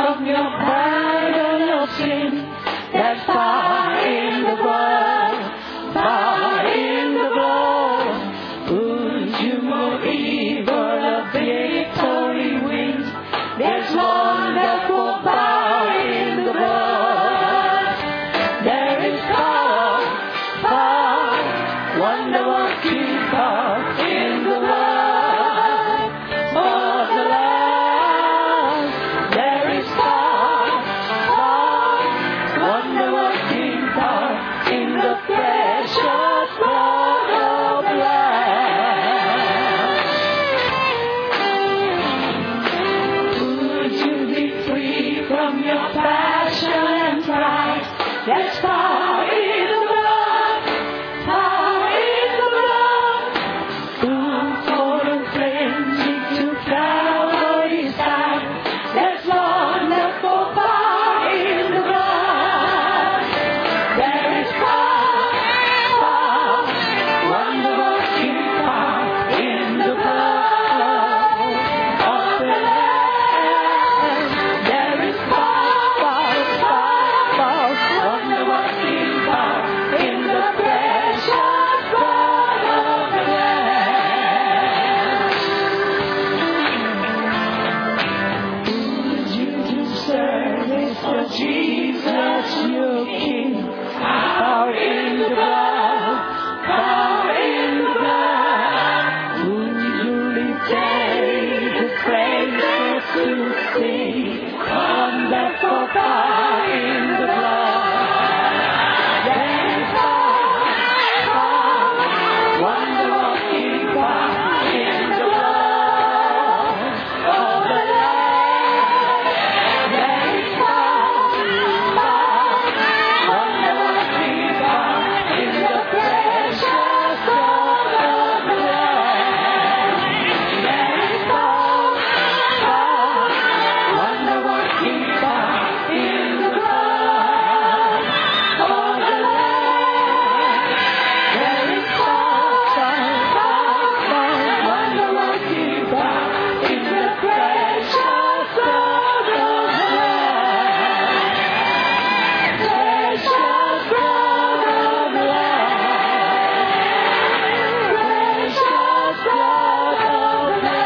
from your burden of sin. There's power in the blood, power in the blood. Would you more evil a victory win? There's wonderful power in the blood. There is power, power, wonder-working power in the blood of the Lamb. There is power, power, wonder-working power in the precious blood of the Lamb. Would you be free from your passion and pride? There's power in the blood, power in the blood. Who for the cleansing to Calvary's side? There's wonderful power in the blood. There is power, power, wonder-working power in the blood of the Lamb. There is power, power, wonder-working power in the precious blood of the Lamb. Would you do service for Jesus, your King? Power in the blood, power in the blood. Would you retain the praises to sing? Wonderful power in the blood. There is power, power, wonder-working power in the blood of the Lamb. There is power, power, wonder-working power in the precious blood of the Lamb. There is power, power, wonder-working power in the blood of the Lamb. There is power, power, wonder-working power in the precious blood of the Lamb. Precious blood of the Lamb. Precious blood of the Lamb.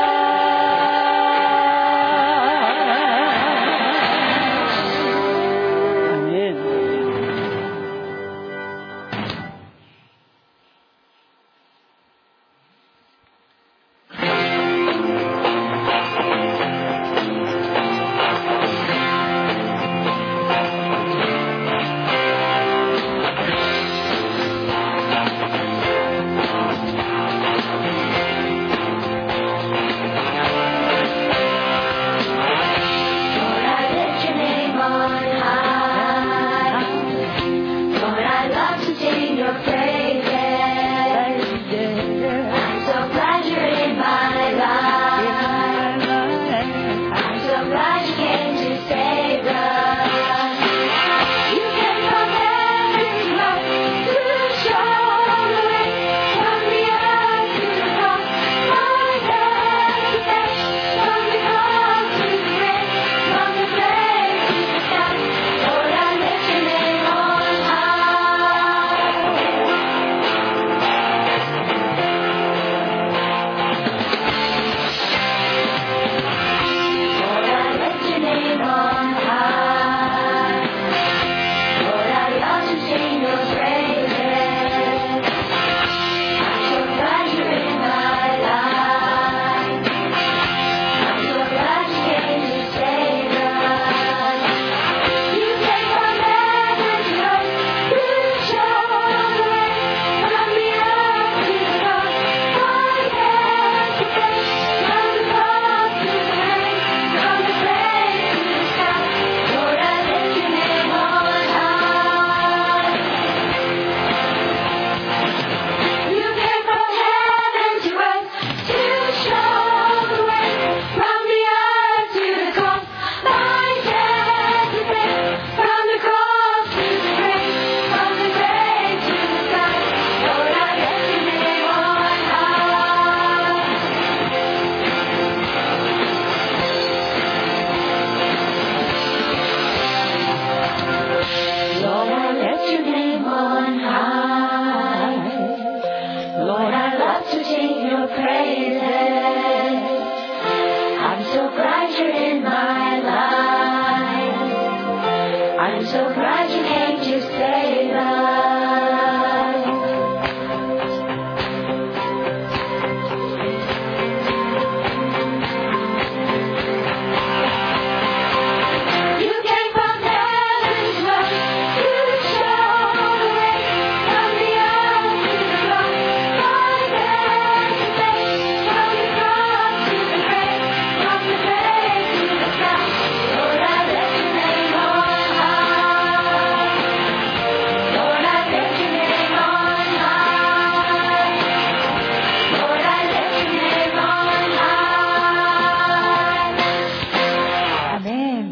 Amen. Lord, I lift your name on high. Lord, I love to sing your praises. I'm so glad you're in my life. I'm so glad you came to save us. You came from heaven to show the way, from the earth to the cross, my death to death, from the cross to the grave, from the grave to the sky. Lord, I lift your name on high. Lord, I lift so glad you came to save us. You came from heaven's west to show the way, from the earth to the cross, from death to faith, from the cross to the grave, from the grave to the sky. Lord, I lift your name on high. Lord, I lift your name on high. Lord, I lift your name on high. Amen.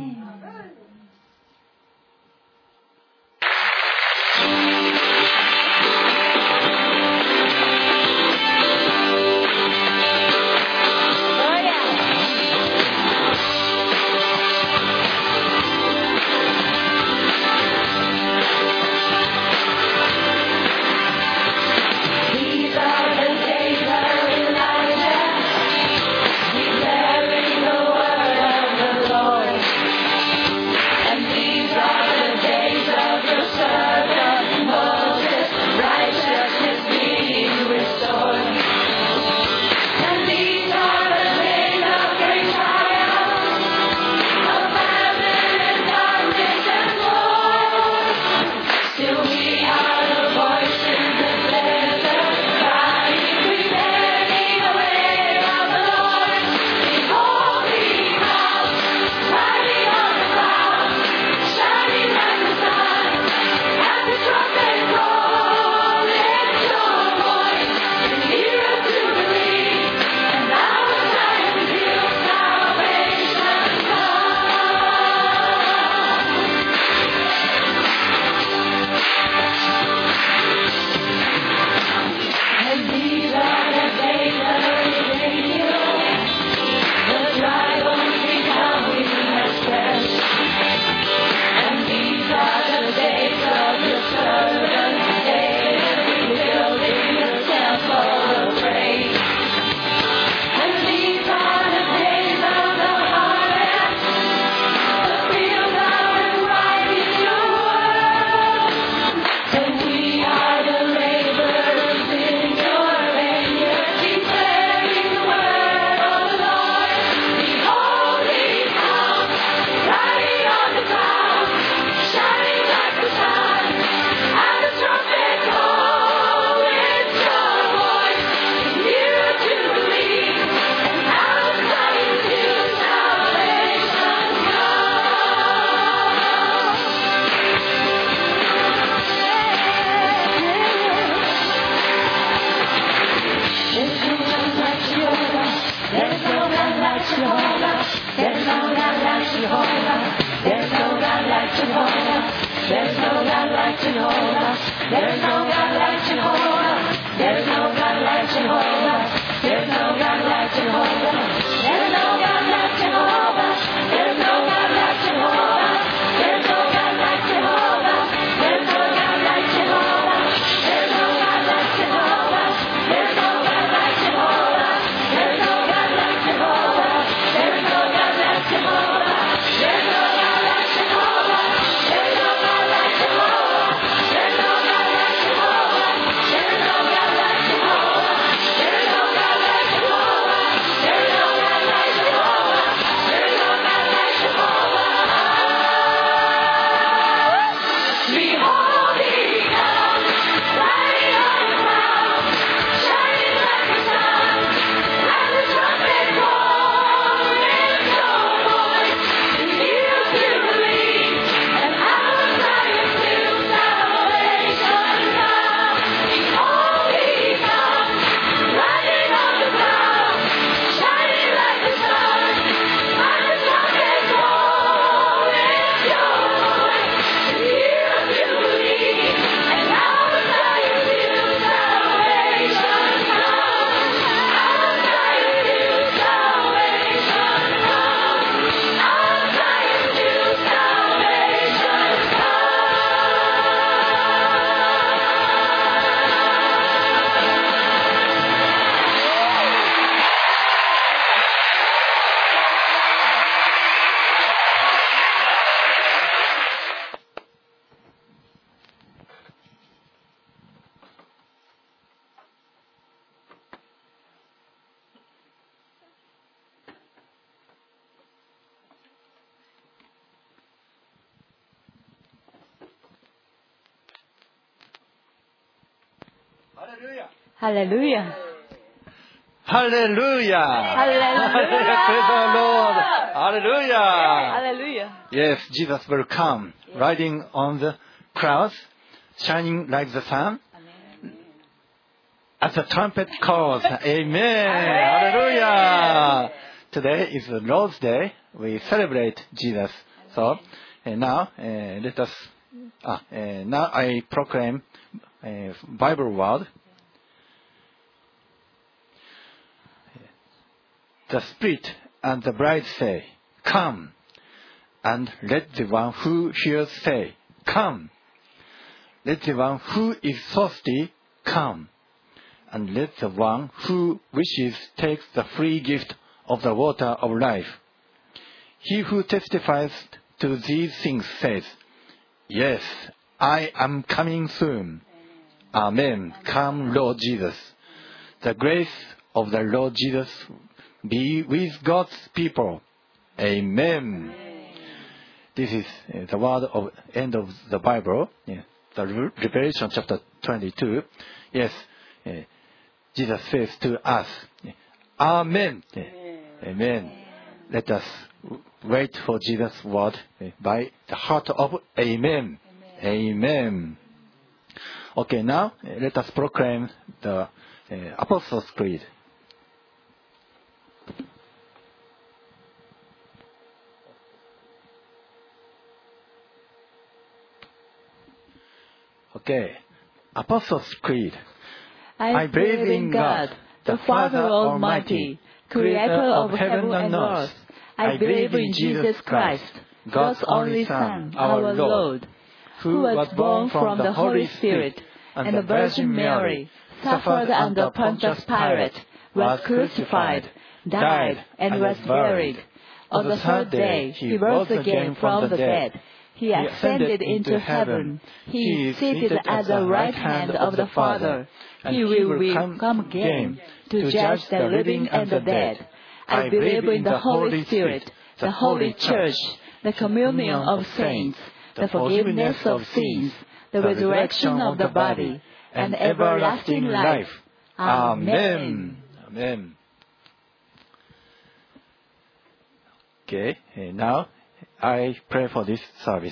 These are the days of Elijah, declaring the word of the Lord. And these are the days of your servant Moses, righteousness being restored. And these are the days of great triumph, of famine and darkness and war. Still we are the voices that desert, crying, preparing the way of the Lord. Behold, He comes, riding on the clouds, shining like the sun. At the trumpet call, lift your voice, and hear us to believe. And now the time is here, salvation And these are the days of Ezekiel, the dry bones becoming as flesh. And these are the days of your servant David, rebuilding the temple of praise. And these are the days of the harvest, the fields are ripe in your word. And we are the laborers in your vineyard, declaring the word of the Lord. Behold, He comes, riding on the clouds, shining like the sun. At the trumpet call, lift your voice, and hear us to believe. And now the time is here, salvation There's no God like Jehovah. There's no God like Jehovah. There's no God like Jehovah. There's no God like Jehovah. There's no God like Jehovah. There's no God like Jehovah. There's no God like Jehovah. There's no God like Jehovah. There's no God like Jehovah. There's no God like Jehovah. There's no God like Jehovah. There's no God like Jehovah. There's no God like Jehovah. There's no God like Jehovah. There's no God like Jehovah. There's no God like Jehovah. There's no God like Jehovah. There's no God like Jehovah. There's no God like Jehovah. Hallelujah. Hallelujah. Hallelujah. Praise the Lord. Hallelujah. Hallelujah. Yes, Jesus will come, riding on the clouds, shining like the sun. As the trumpet calls, Amen. Hallelujah. Today is the Lord's Day. We celebrate Jesus. So now let us. Now I proclaim Bible word. The Spirit and the bride say, "Come," and let the one who hears say, "Come." Let the one who is thirsty come, and let the one who wishes take the free gift of the water of life. He who testifies to these things says, "Yes, I am coming soon." Amen. Come, Lord Jesus. The grace of the Lord Jesus be with God's people. Amen. This is the word of end of the Bible. The Revelation chapter 22. Yes, Jesus says to us, Amen. Amen. Let us wait for Jesus' word by the heart of Amen. Amen. Okay, now let us proclaim the Apostles' Creed. Okay, Apostles' Creed. I believe in God, the Father Almighty, creator of heaven and earth. I believe in Jesus Christ, God's only Son, our Lord, who was born from the Holy Spirit and the Virgin Mary, suffered under Pontius Pilate, was crucified, died, and was buried. On the third day he rose again from the dead. He ascended into heaven. He is seated at the right hand of the Father. He will come again to judge the living and the dead. I believe in the Holy Spirit, the Holy Church, the communion of saints, the forgiveness of sins, the resurrection of the body, and everlasting life. Amen. Amen. Okay, now I pray for this service.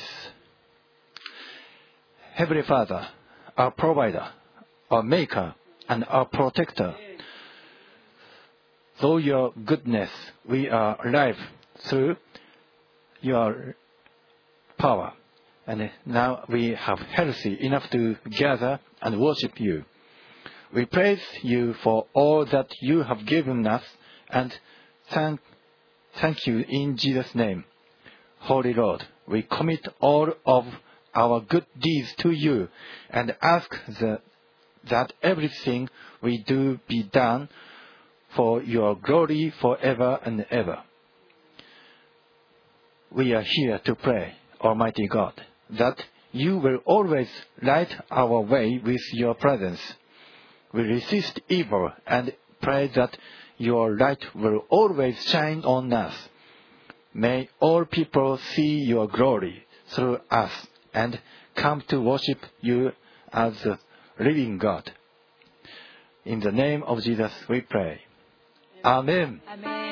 Heavenly Father, our provider, our maker, and our protector, through your goodness, we are alive through your power. And now we have healthy enough to gather and worship you. We praise you for all that you have given us and thank you in Jesus' name. Holy Lord, we commit all of our good deeds to you and ask that everything we do be done for your glory forever and ever. We are here to pray, Almighty God, that you will always light our way with your presence. We resist evil and pray that your light will always shine on us. May all people see your glory through us and come to worship you as the living God. In the name of Jesus we pray. Amen. Amen.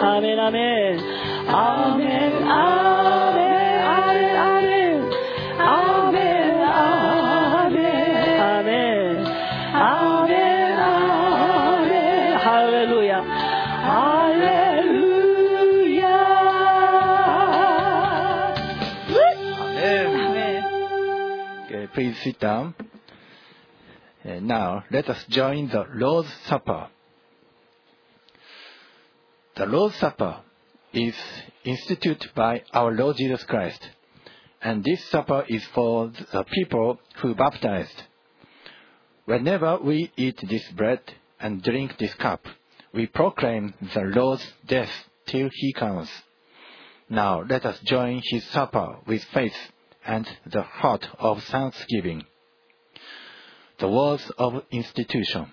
Amen. please sit down. Now, let us join the Lord's Supper. The Lord's Supper is instituted by our Lord Jesus Christ, and this supper is for the people who baptized. Whenever we eat this bread and drink this cup, we proclaim the Lord's death till he comes. Now let us join his supper with faith and the heart of thanksgiving. The words of institution.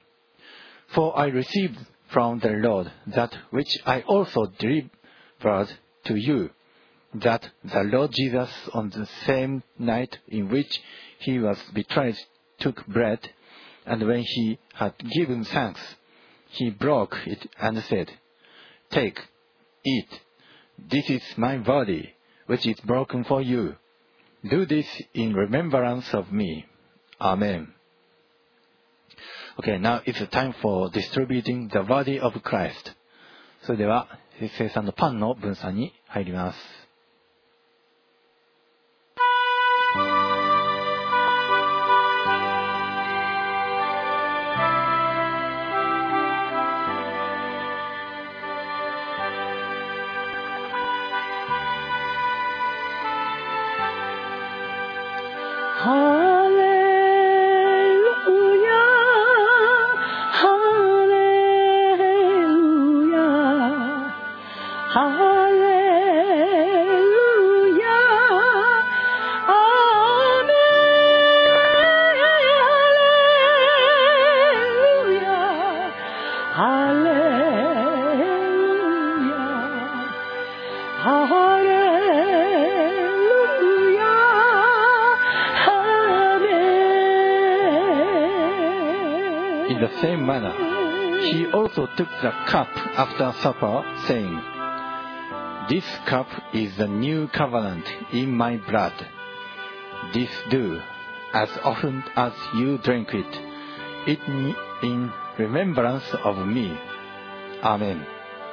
For I received from the Lord that which I also delivered to you, that the Lord Jesus on the same night in which he was betrayed took bread, and when he had given thanks, he broke it and said, "Take, eat. This is my body, which is broken for you. Do this in remembrance of me." Amen. Okay, now it's time for distributing the body of Christ. それでは、生産のパンの分散に入ります。In the same manner, he also took the cup after supper, saying, "This cup is the new covenant in my blood. This do, as often as you drink it, in remembrance of me." Amen.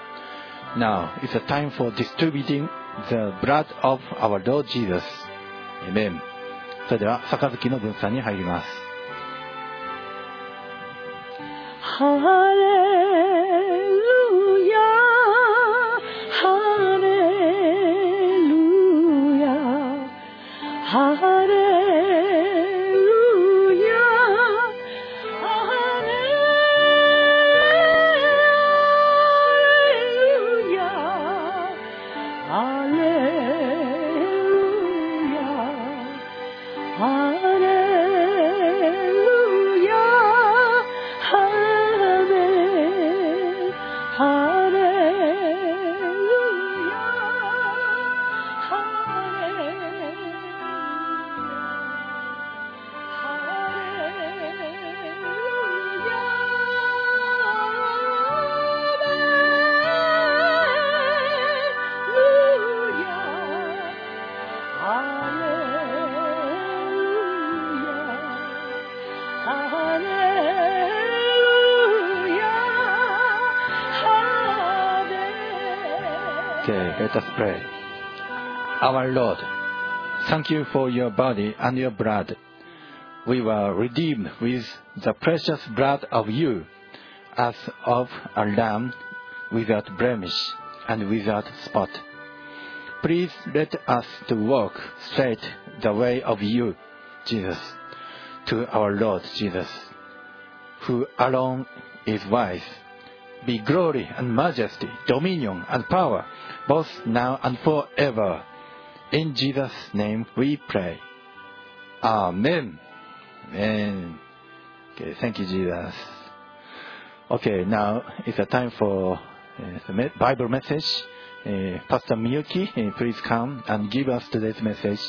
Now it's a time for distributing the blood of our Lord Jesus. Amen. それでは、杯の分散に入ります。 ハレルヤ、ハレルヤ、ハレルヤ、ハレルヤ、ハレルヤ、ハレルヤ。 Okay, let us pray. Our Lord, thank you for your body and your blood. We were redeemed with the precious blood of you, as of a lamb without blemish and without spot. Please let us to walk straight the way of you, Jesus, to our Lord Jesus, who alone is wise. Be glory and majesty, dominion and power, both now and forever. In Jesus' name we pray. Amen. Amen. Okay, thank you, Jesus. Okay, now it's a time for the Bible message. Pastor Miyuki, please come and give us today's message.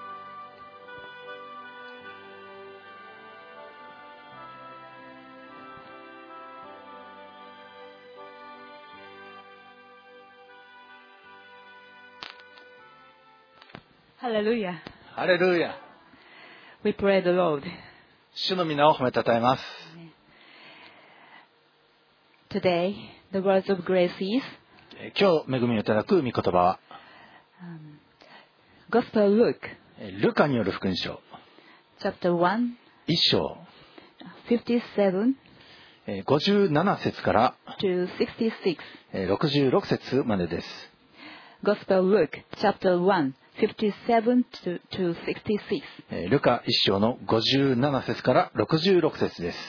Hallelujah. ハレルヤ。 We pray the Lord. 主の皆を褒めたたえます。 Today, the words of grace is 今日恵みをいただく御言葉は、 Gospel Luke, ルカによる福音書 chapter 1, 1章、 57 57節から to 66. 66節までです。 Gospel Luke, chapter 1, 57 to 66. ルカ1章の57節から66節です。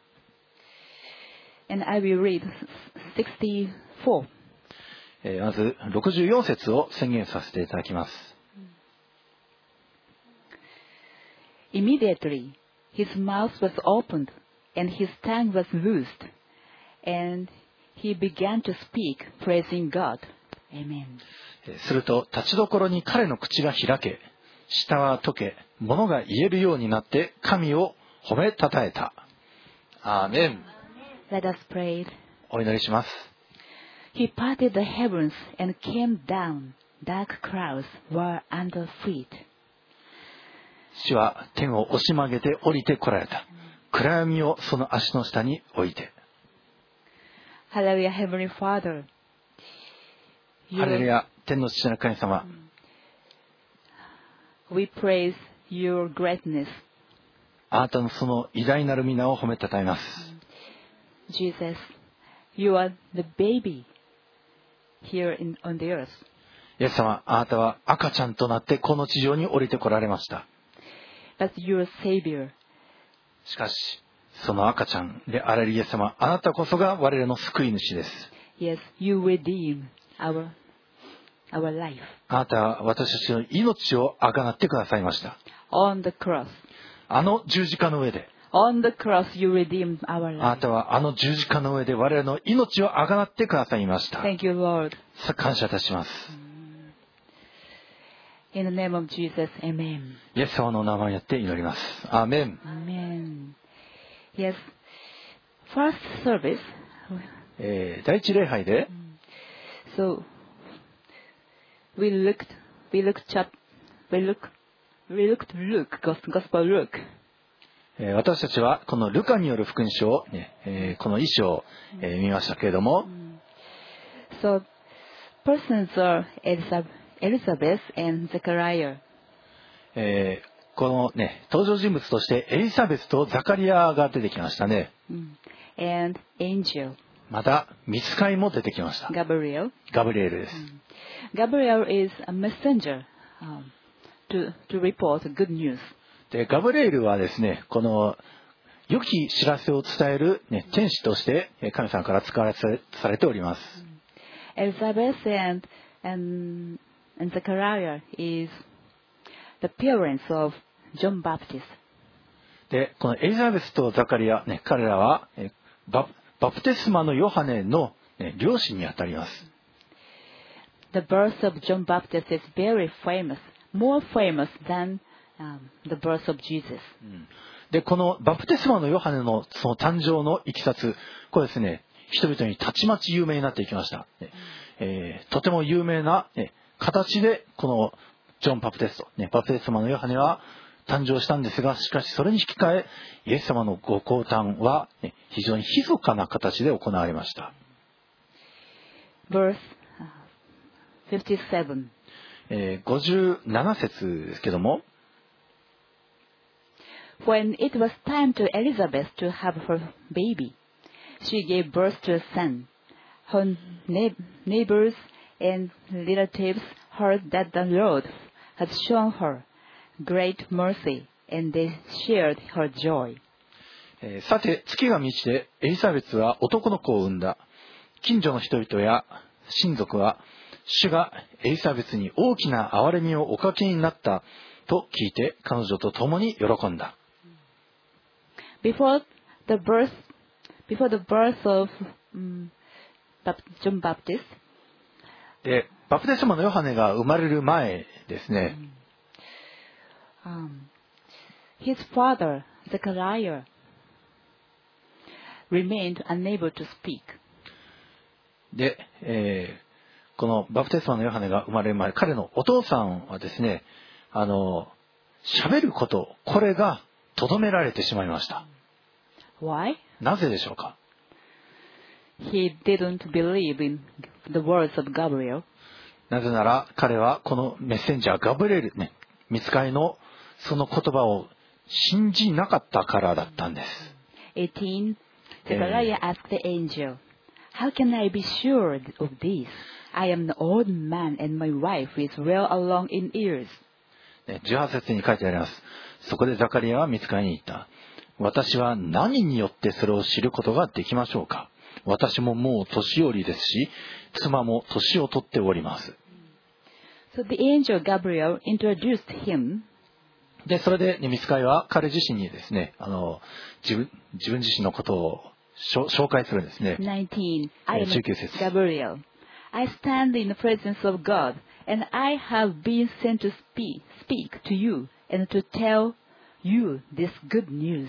And I will read 64. まず64節を宣言させていただきます。 Immediately, his mouth was opened, and his tongue was loosed, and he began to speak, praising God. Amen. すると立ちどころに彼の口が開け、舌は溶け、物が言えるようになって神を褒めたたえた。アーメン。 Let us pray. お祈りします。 He parted the heavens and came down. Dark clouds were under feet. 主は天を押し曲げて降りてこられた。暗闇をその足の下に置いて。 Hallelujah, Heavenly Father. ハレルヤ、天の父なる神様。 We praise your greatness. あなたのその偉大なる皆を褒めたたえます。 Jesus, you are the baby here on the earth. イエス様、あなたは赤ちゃんとなってこの地上に降りてこられました。 That's your Savior. しかし、その赤ちゃんであられるイエス様、あなたこそが我らの救い主です。 Yes, you redeem our life. あなたは私たちの命をあがなってくださいました。 On the cross. あの十字架の上で、 On the cross, you redeemed our あな life. たはあの十字架の上で我らの命をあがなってくださいました。 Thank you, Lord. 感謝いたします。 In the name of Jesus, Amen. イエス様の名前によって祈ります。アーメン。 Amen. Yes. First service. 第一礼拝で、 So we looked Luke, Gospel Luke. 私たちはこのルカによる福音書を、この一章を、見ましたけれども、 So persons are Elizabeth and Zechariah. このね、登場人物としてエリザベスとザカリアが出てきましたね。 And angel, また、御使いも出てきました。 Gabriel. ガブリエルです。 Gabriel is a messenger to report good news. で、ガブリエルはですね、この良き知らせを伝える、ね、天使として神様から使われされております。 Elizabeth and Zechariah is the parents of John Baptist. で、このエリザベスとザカリア、ね、彼らはバプテスマのヨハネの、両親にあたります。 The birth of John Baptist is very famous, more famous than the birth of Jesus. で、このバプテスマのヨハネのその誕生のいきさつ、これですね、人々にたちまち有名になっていきました。とても有名な、形でこのジョン・バプテスト、バプテスマのヨハネは誕生したんですが、しかしそれに引き換えイエス様のご降誕は、非常に密かな形で行われました。 Verse 57. 57節ですけども、 When it was time to Elizabeth to have her baby, she gave birth to a son. Her neighbors and relatives heard that the Lord had shown her great mercy, and they shared her joy. さて月が満ちてエリザベスは男の子を産んだ。近所の人々や親族は主がエリザベスに大きな憐れみをおかけになったと聞いて彼女と共に喜んだ。 Before the birth of John Baptist, で、バプテスマのヨハネが生まれる前ですね、 his father, Zechariah, remained unable to speak. で、このバプテスマのヨハネが生まれる前、彼のお父さんはですね、喋ること、これが留められてしまいました。 Why? なぜでしょうか。 He didn't believe in the words of Gabriel. なぜなら彼はこのメッセンジャーガブリエルね、御使いのその言葉を信じなかったからだったんです。 18. Zechariah asked the angel, "How can I be sure of this? I am an old man and my wife is well along in years." 18節に書いてあります。そこでザカリアは御使いに言った。私は何によってそれを知ることができましょうか。私ももう年寄りですし、妻も年を取っております。 So the angel Gabriel introduced him. で、それで、御使いは彼自身にですね、自分自身のことを紹介するんですね。 19. I am 19節。 Gabriel. I stand in the presence of God, and I have been sent to speak to you and to tell you this good news.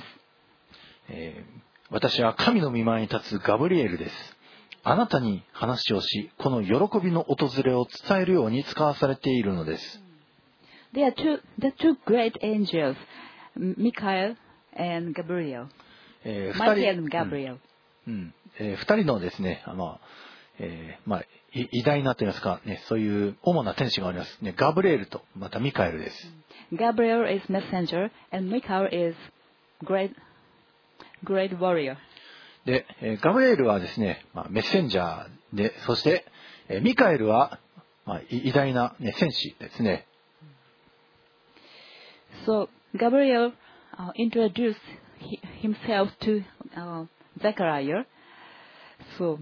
私は神の御前に立つガブリエルです。あなたに話をし、この喜びの訪れを伝えるように使わされているのです。 There are the two great angels, Michael and Gabriel. Michael and Gabriel. 二人のですね、偉大なと言いますか、ね、そういう主な天使があります、ね。ガブリエルとまたミカエルです。 Gabriel is messenger and Michael is great warrior. で、ガブリエルはですね、メッセンジャーで、そして、ミカエルは、偉大な、ね、戦士ですね。 So Gabriel introduced himself to Zechariah. So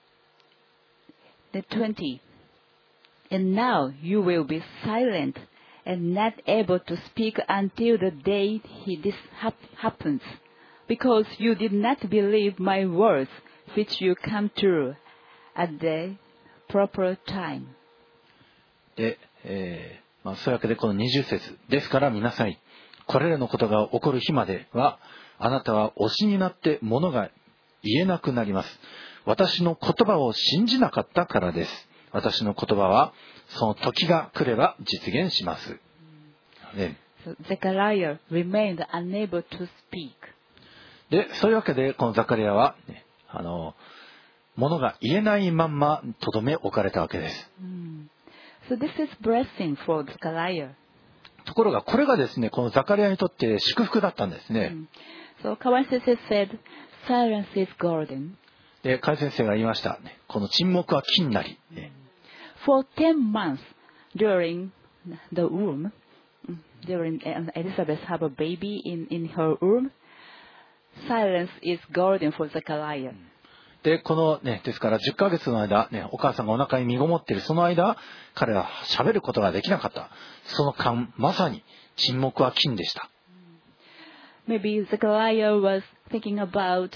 the 20. And now you will be silent and not able to speak until the day this happens, because you did not believe my words, which you come true at the proper time. で、そういうわけでこの20節ですから見なさい。これらのことが起こる日までは、あなたは推しになって物が言えなくなります。私の言葉を信じなかったからです。私の言葉はその時が来れば実現します。 So Zechariah remained unable to speak. で、そういうわけでこのザカリアは、ね、物が言えないまんまとどめ置かれたわけです。 So this is blessing for Zechariah. ところがこれがですね、このザカリアにとって祝福だったんですね。 So Kawai Sensei said, "Silence is golden." で、カイ先生が言いました。この沈黙は金なり。 For 10 months during the womb, during Elizabeth had a baby in her womb, silence is golden for Zechariah. で、このね、ですから10ヶ月の間、ね、お母さんがお腹に身ごもっているその間、彼は喋ることができなかった。その間、まさに沈黙は金でした。 Maybe Zechariah was thinking about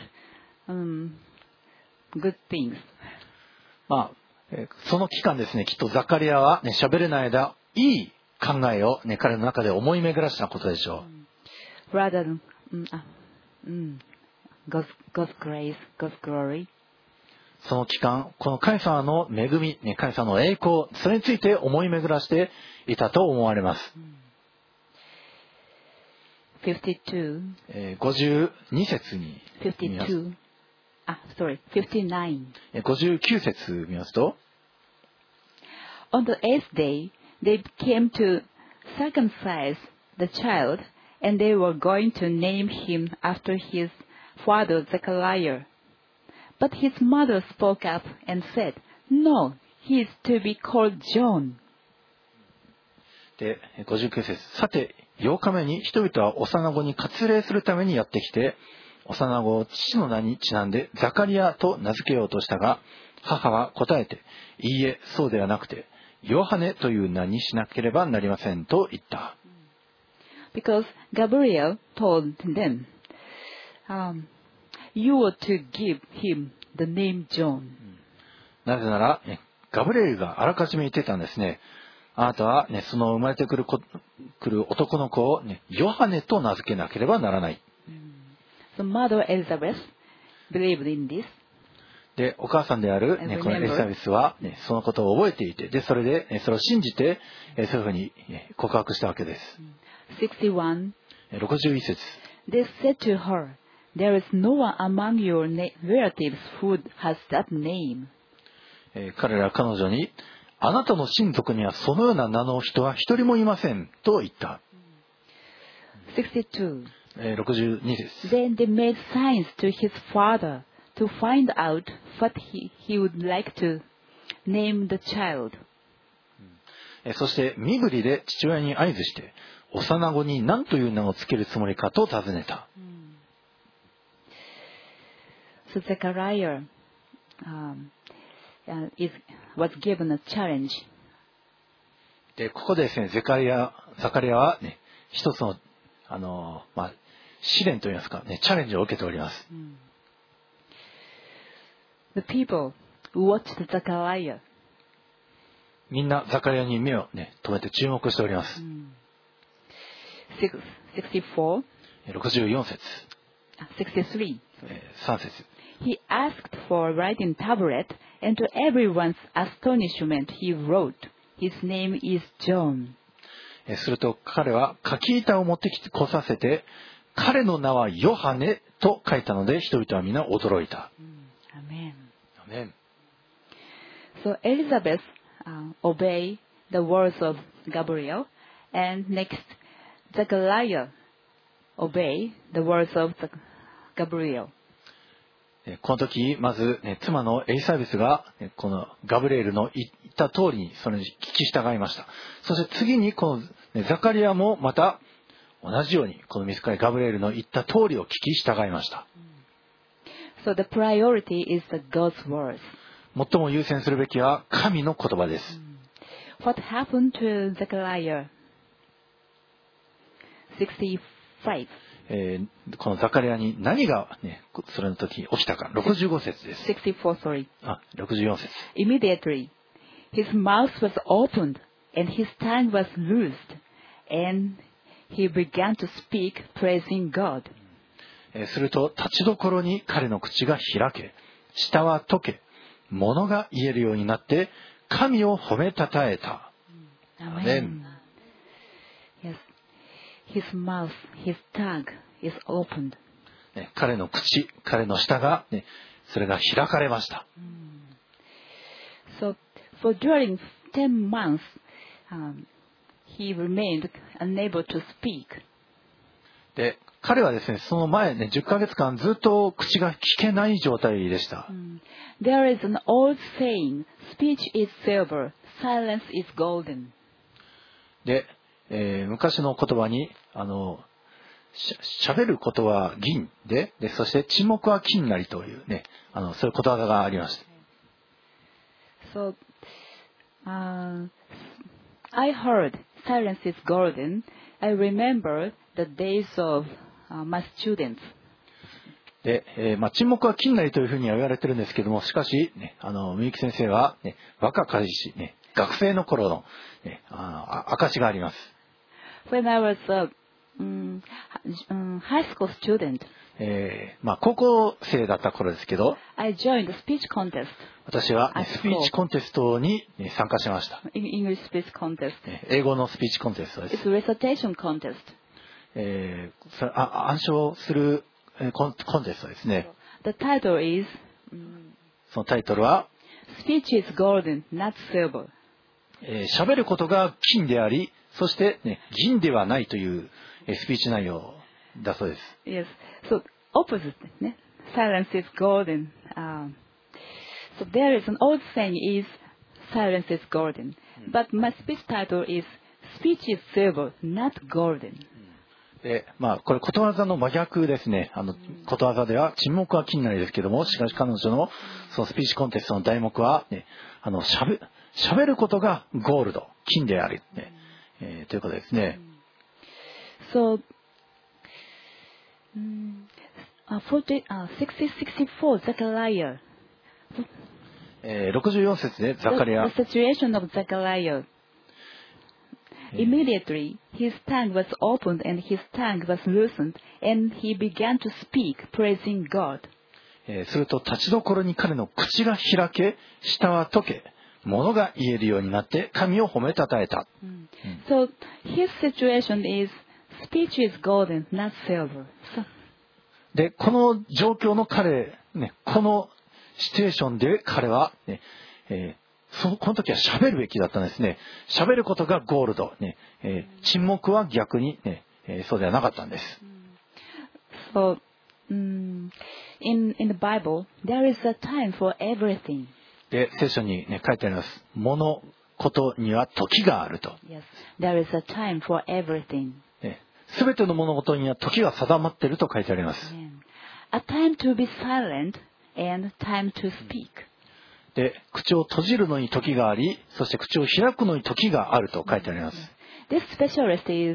good things. その期間ですね、きっとザカリアはね、喋れない間、いい考えをね、彼の中で思い巡らしたことでしょう。Rather than God's grace, God's glory. その期間、この神様の恵み、ね、神様の栄光、それについて思い巡らしていたと思われます。 52 節に見ます。 59 59節見ますと、 On the 8th day, they came to circumcise the child, and they were going to name him after his father Zechariah. But his mother spoke up and said, "No, he is to be called John." で、59節。さて、8日目に人々は幼子に割礼するためにやってきて、幼子を父の名にちなんでザカリアと名付けようとしたが、母は答えて、いいえ、そうではなくて、ヨハネという名にしなければなりませんと言った。 Because Gabriel told them, "You are to give him the name John." なぜなら、ガブリエルがあらかじめ言ってたんですね。あなたは、ね、その生まれてくる男の子を、ね、ヨハネと名付けなければならない。 So Mother Elizabeth believed in this. で、お母さんである、ね、このエリザベスは、ね、そのことを覚えていて、で、それで、それを信じて、そういうふうに告白したわけです。 61 61節。 They said to her, "There is no one among your relatives who has that name." 彼らは彼女に、あなたの親族にはそのような名の人は一人もいませんと言った。 62. 62節。 Then they made signs to his father to find out what he would like to name the child. そして身振りで父親に合図して、幼子に何という名をつけるつもりかと尋ねた。 So Zechariah was given a challenge. で、ここでですね、ザカリアはね、一つの、試練といいますか、ね、チャレンジを受けております。 The people watched Zechariah. みんなザカリアに目をね、止めて注目しております。 64. 64節。 63. 3節。 He asked for a writing tablet, and to everyone's astonishment, he wrote, "His name is John." すると彼は書き板を持ってきてこさせて、彼の名はヨハネと書いたので、人々は皆驚いた。 Amen. アメン。 So Elizabeth obeyed the words of Gabriel, and next Zechariah obeyed the words of Gabriel. この時まず、ね、妻のエリザベスが、ね、このガブリエルの言った通りにそれに聞き従いました。そして次にこの、ね、ザカリアもまた同じようにこの御使いガブリエルの言った通りを聞き従いました。 So the priority is the God's words. 最も優先するべきは神の言葉です。 What happened to Zechariah? 65. このザカリアに何が、ね、それの時起きたか。65節です。 64, sorry. 64節。 Immediately, his mouth was opened, and his tongue was loosed, and he began to speak, praising God. すると、立ちどころに彼の口が開け、舌は溶け、物が言えるようになって、神を褒めたたえた。 Amen. Yes. His mouth, his tongue is opened. 彼の口、彼の舌が、ね、それが開かれました。 So, for during 10 months, he remained unable to speak. で、彼はですね、その前ね、10ヶ月間ずっと口が聞けない状態でした。 There is an old saying, speech is silver, silence is golden. で、昔の言葉に、喋ることは銀で、そして沈黙は金なりというね、そういうことわざがありました。 So, I heard silence is golden. I remember the days of my students. で、沈黙は金なりというふうには言われてるんですけども、しかし、ね、みゆき先生は、ね、若かりし、ね、学生の頃の、ね、証があります。 When I was a high school student, 高校生だった頃ですけど、 I joined the speech contest. 私は、ね、スピーチコンテストに、ね、参加しました。 English speech contest. 英語のスピーチコンテストです。 It's a recitation contest. 暗唱するコンテストですね。 The title is そのタイトルは Speech is golden, not silver. 喋ることが金であり、そして、ね、銀ではないというスピーチ内容だそうです。 Yes. So opposite, ね。Silence is golden. So there is an old saying is silence is golden. But my speech title is Speech is silver, not golden. で、これことわざの真逆ですね。ことわざでは沈黙は金なりですけども、しかし彼女のそのスピーチコンテストの題目は、ね、喋ることがゴールド、金である、ねということですね。 So, 64, Zechariah. 64節でザカリア。 The situation of Zechariah. Immediately, his tongue was opened and his tongue was loosened, and he began to speak, praising God. すると立ちどころに彼の口が開け、舌は溶け、物が言えるようになって神を褒めたたえた。 So his situation is speech is golden, not silver. So, で、この状況の彼、ね、このシチュエーションで彼は、ねこの時は喋るべきだったんですね。喋ることがゴールド、ね沈黙は逆に、ねそうではなかったんです。 So, in the Bible, there is a time for everything. で、聖書に、ね、書いてあります。物事には時があると。 Yes, there is a time for everything. すべての物事には時が定まっていると書いてあります。 A time to be silent and time to speak. で、口を閉じるのに時があり、そして口を開くのに時があると書いてあります。 This specialist is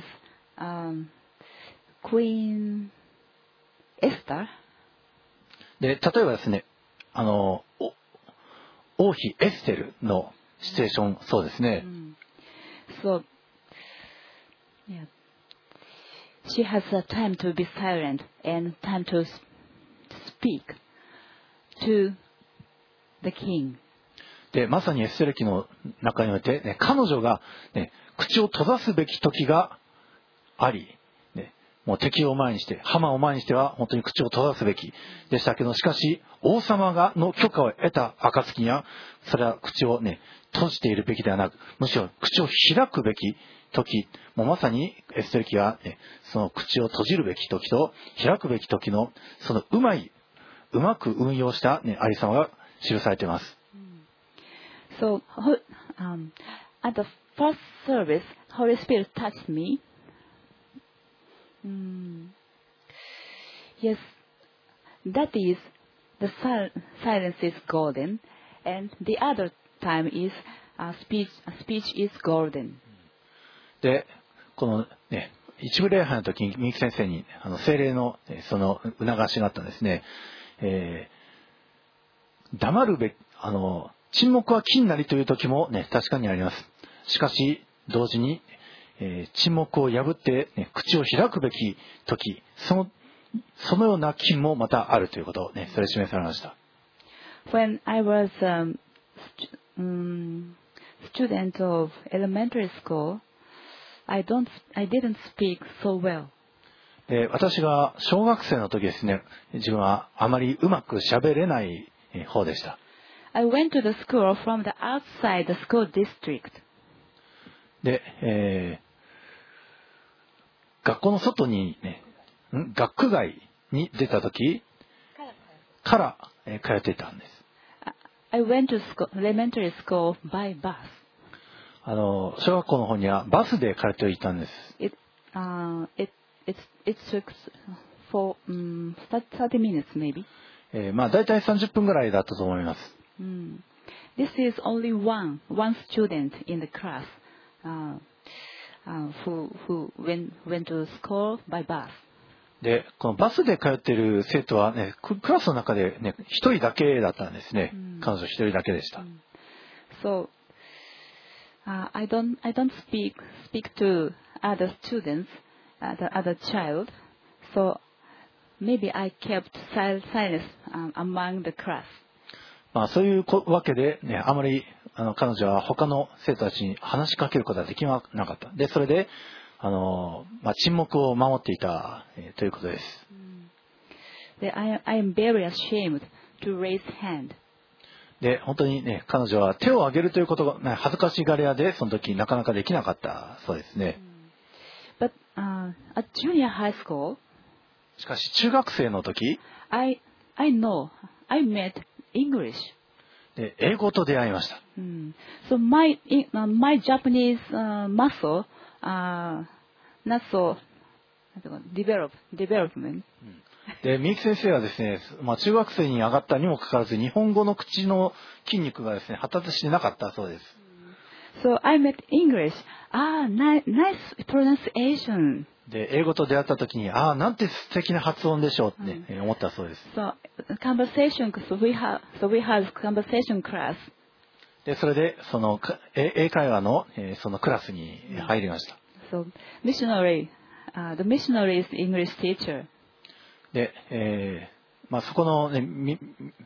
Queen Esther. で、例えばですね、王妃エステルのシチュエーション、そうですね。 So, yeah. She has a time to be silent and time to speak to the king. で、まさにエステル記の中において、ね、彼女が、ね、口を閉ざすべき時があり、ね、もう敵を前にして、ハマを前にしては本当に口を閉ざすべきでしたけど、しかし王様の許可を得た暁には、それは口をね、閉じているべきではなく、むしろ口を開くべき時、もうまさにエステル記は、ね、その口を閉じるべき時と開くべき時のそのうまく運用した、ね、ありさまが記されています。 So, at the first service, Holy Spirit touched me. Yes, that is, the silence is golden, and the other time is speech is golden. で、このね、一部礼拝の時に三木先生に聖霊のその促しがあったんですね。黙るべき沈黙は金なりという時もね、確かにあります。しかし同時に、沈黙を破って、ね、口を開くべき時、そのような金もまたあるということをね、それ示されました。 When I was student of elementary school, I didn't speak so well. 私が小学生の時ですね、自分はあまりうまく喋れない方でした。 I went to the school from the outside the school district. で、学校の外にね、学区外に出た時から通っていたんです。 I went to elementary school by bus. 小学校の方にはバスで通っていたんです。 It took for 30 minutes maybe. まあだいたい30分ぐらいだったと思います。 This is only one student in the class who went to school by bus. で、このバスで通っている生徒はね、クラスの中でね、一人だけだったんですね。彼女一人だけでした。 So, I don't speak to other students, other child. So maybe I kept silence among the class. まあそういうわけでね、あまり彼女は他の生徒たちに話しかけることができなかった。で、それで沈黙を守っていた、ということです。 I am very ashamed to raise hand. で、本当にね、彼女は手を挙げるということが、ね、恥ずかしがり屋で、その時なかなかできなかったそうですね。 But at junior high school, しかし中学生の時、 I know I met English. で、英語と出会いました。 So my Japanese muscle not so development. で、みゆき先生はですね、中学生に上がったにもかかわらず、日本語の口の筋肉がですね、発達してなかったそうです。 So I met English. Nice pronunciation. で、英語と出会った時に、なんて素敵な発音でしょうって、思ったそうです。 So conversation. So we have conversation class. で、それでその英会話のそのクラスに入りました。 So missionary, the missionary is English teacher. で、そこの、ね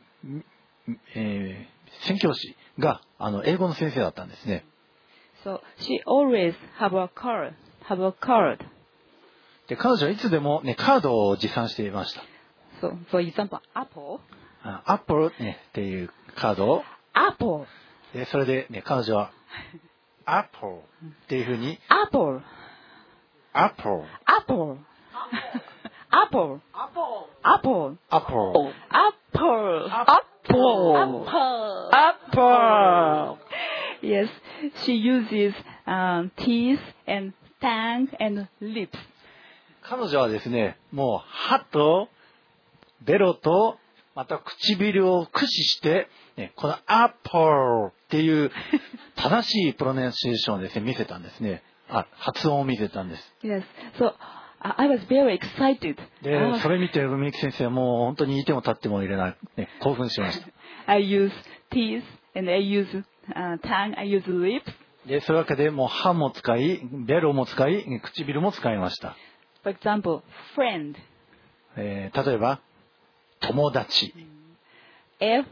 宣教師が英語の先生だったんですね。 So she always have a card. で、彼女はいつでもねカードを持参していました。 So for example, Apple. Apple ねっていうカードを。 Apple. で、それでね彼女はApple っていうふうに。 Apple. apple. Apple. Apple. Apple. Apple. Apple. Apple. Yes, she uses teeth and tongue and lips. 彼女はですね、もう歯とベロとまた唇を駆使して、ね、この Apple っていう正しいプロナンシエーションをですね、見せたんですね。発音を見せたんです。 Yes, so I was very excited. で、それ見てみゆき先生はもう本当にいても立ってもいれない、ね、興奮しました。 I use teeth and I use tongue, I use lips. で、そういうわけでもう歯も使い、ベロも使い、唇も使いました。 For example, friend. 例えば、友達。 F.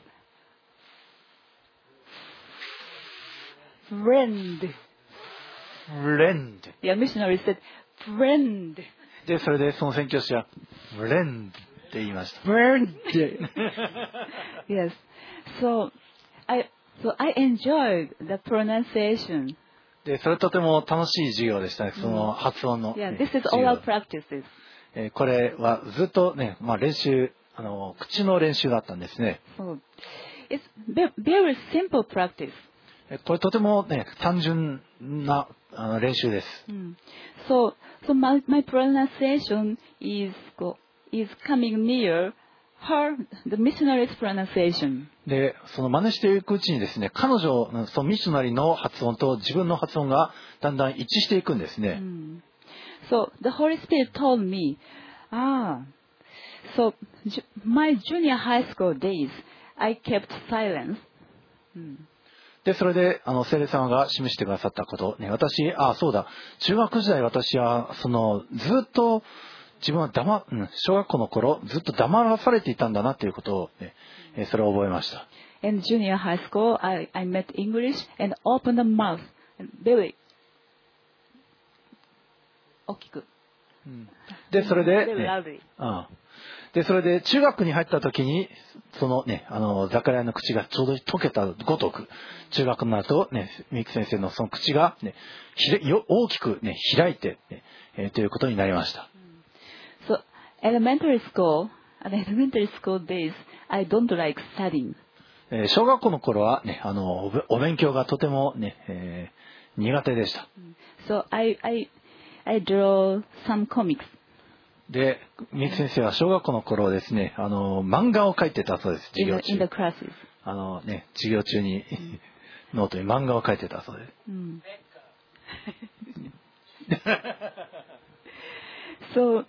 Friend. Friend. The missionary said, friend. で、それでその宣教師は、friend って言いました。 Friend. Yes. So I enjoyed the pronunciation. で、それとても楽しい授業でしたね。その発音の、 Yeah, this is oral practices. これはずっとね、練習、口の練習だったんですね。 So it's very simple practice. これとてもね、単純な練習です。 So my pronunciation is coming near the missionary's pronunciation. で、その真似していくうちにですね、彼女、そのミッショナリーの発音と自分の発音がだんだん一致していくんですね。 So the Holy Spirit told me, so my junior high school days, I kept silence. で、それで、聖霊様が示してくださったこと、ね、私、そうだ、中学時代私は、ずっと、自分は小学校の頃、ずっと黙らされていたんだなということを、ね、それを覚えました。 In junior high school, I met English and opened the mouth, and very 大きく。 で、それで、 very loudly. で、それで中学に入った時に、そのね、ザカリアの口がちょうど溶けたごとく、中学になるとね、ミキ先生のその口がね、大きくね、開いて、ね、ということになりました。 So, elementary school days, I don't like studying. 小学校の頃はね、お勉強がとてもね、苦手でした。 So, I draw some comics. で、ミキ先生は小学校の頃ですね、漫画を描いてたそうです、授業中。 In the classes. ね、授業中にノートに漫画を描いてたそうです。 So,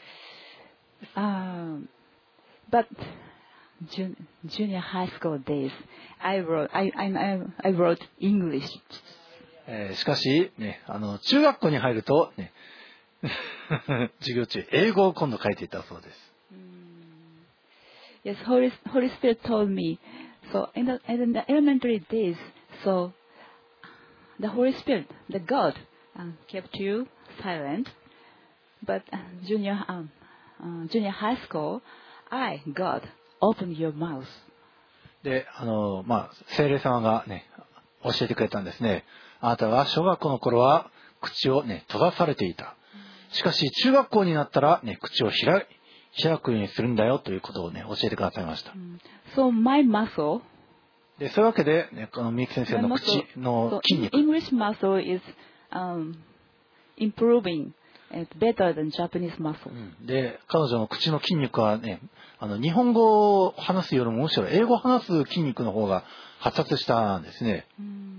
but junior high school days, I wrote English. しかし、ね、中学校に入ると、ね、授業中、英語を今度書いていたそうです。 Yes, Holy Spirit told me. So in the elementary days, so the Holy Spirit, the God, kept you silent. But junior high school, God, opened your mouth. で、聖霊様がね、教えてくれたんですね。あなたは小学校の頃は口をね、閉ざされていた。しかし中学校になったらね、口を開くようにするんだよということをね、教えてくださいました。 So my muscle. で、そういうわけで、ね、このミキ先生の口の筋肉。 English muscle is improving. It's better than Japanese muscle. で、彼女の口の筋肉はね、日本語を話すよりもむしろ英語を話す筋肉の方が発達したんですね。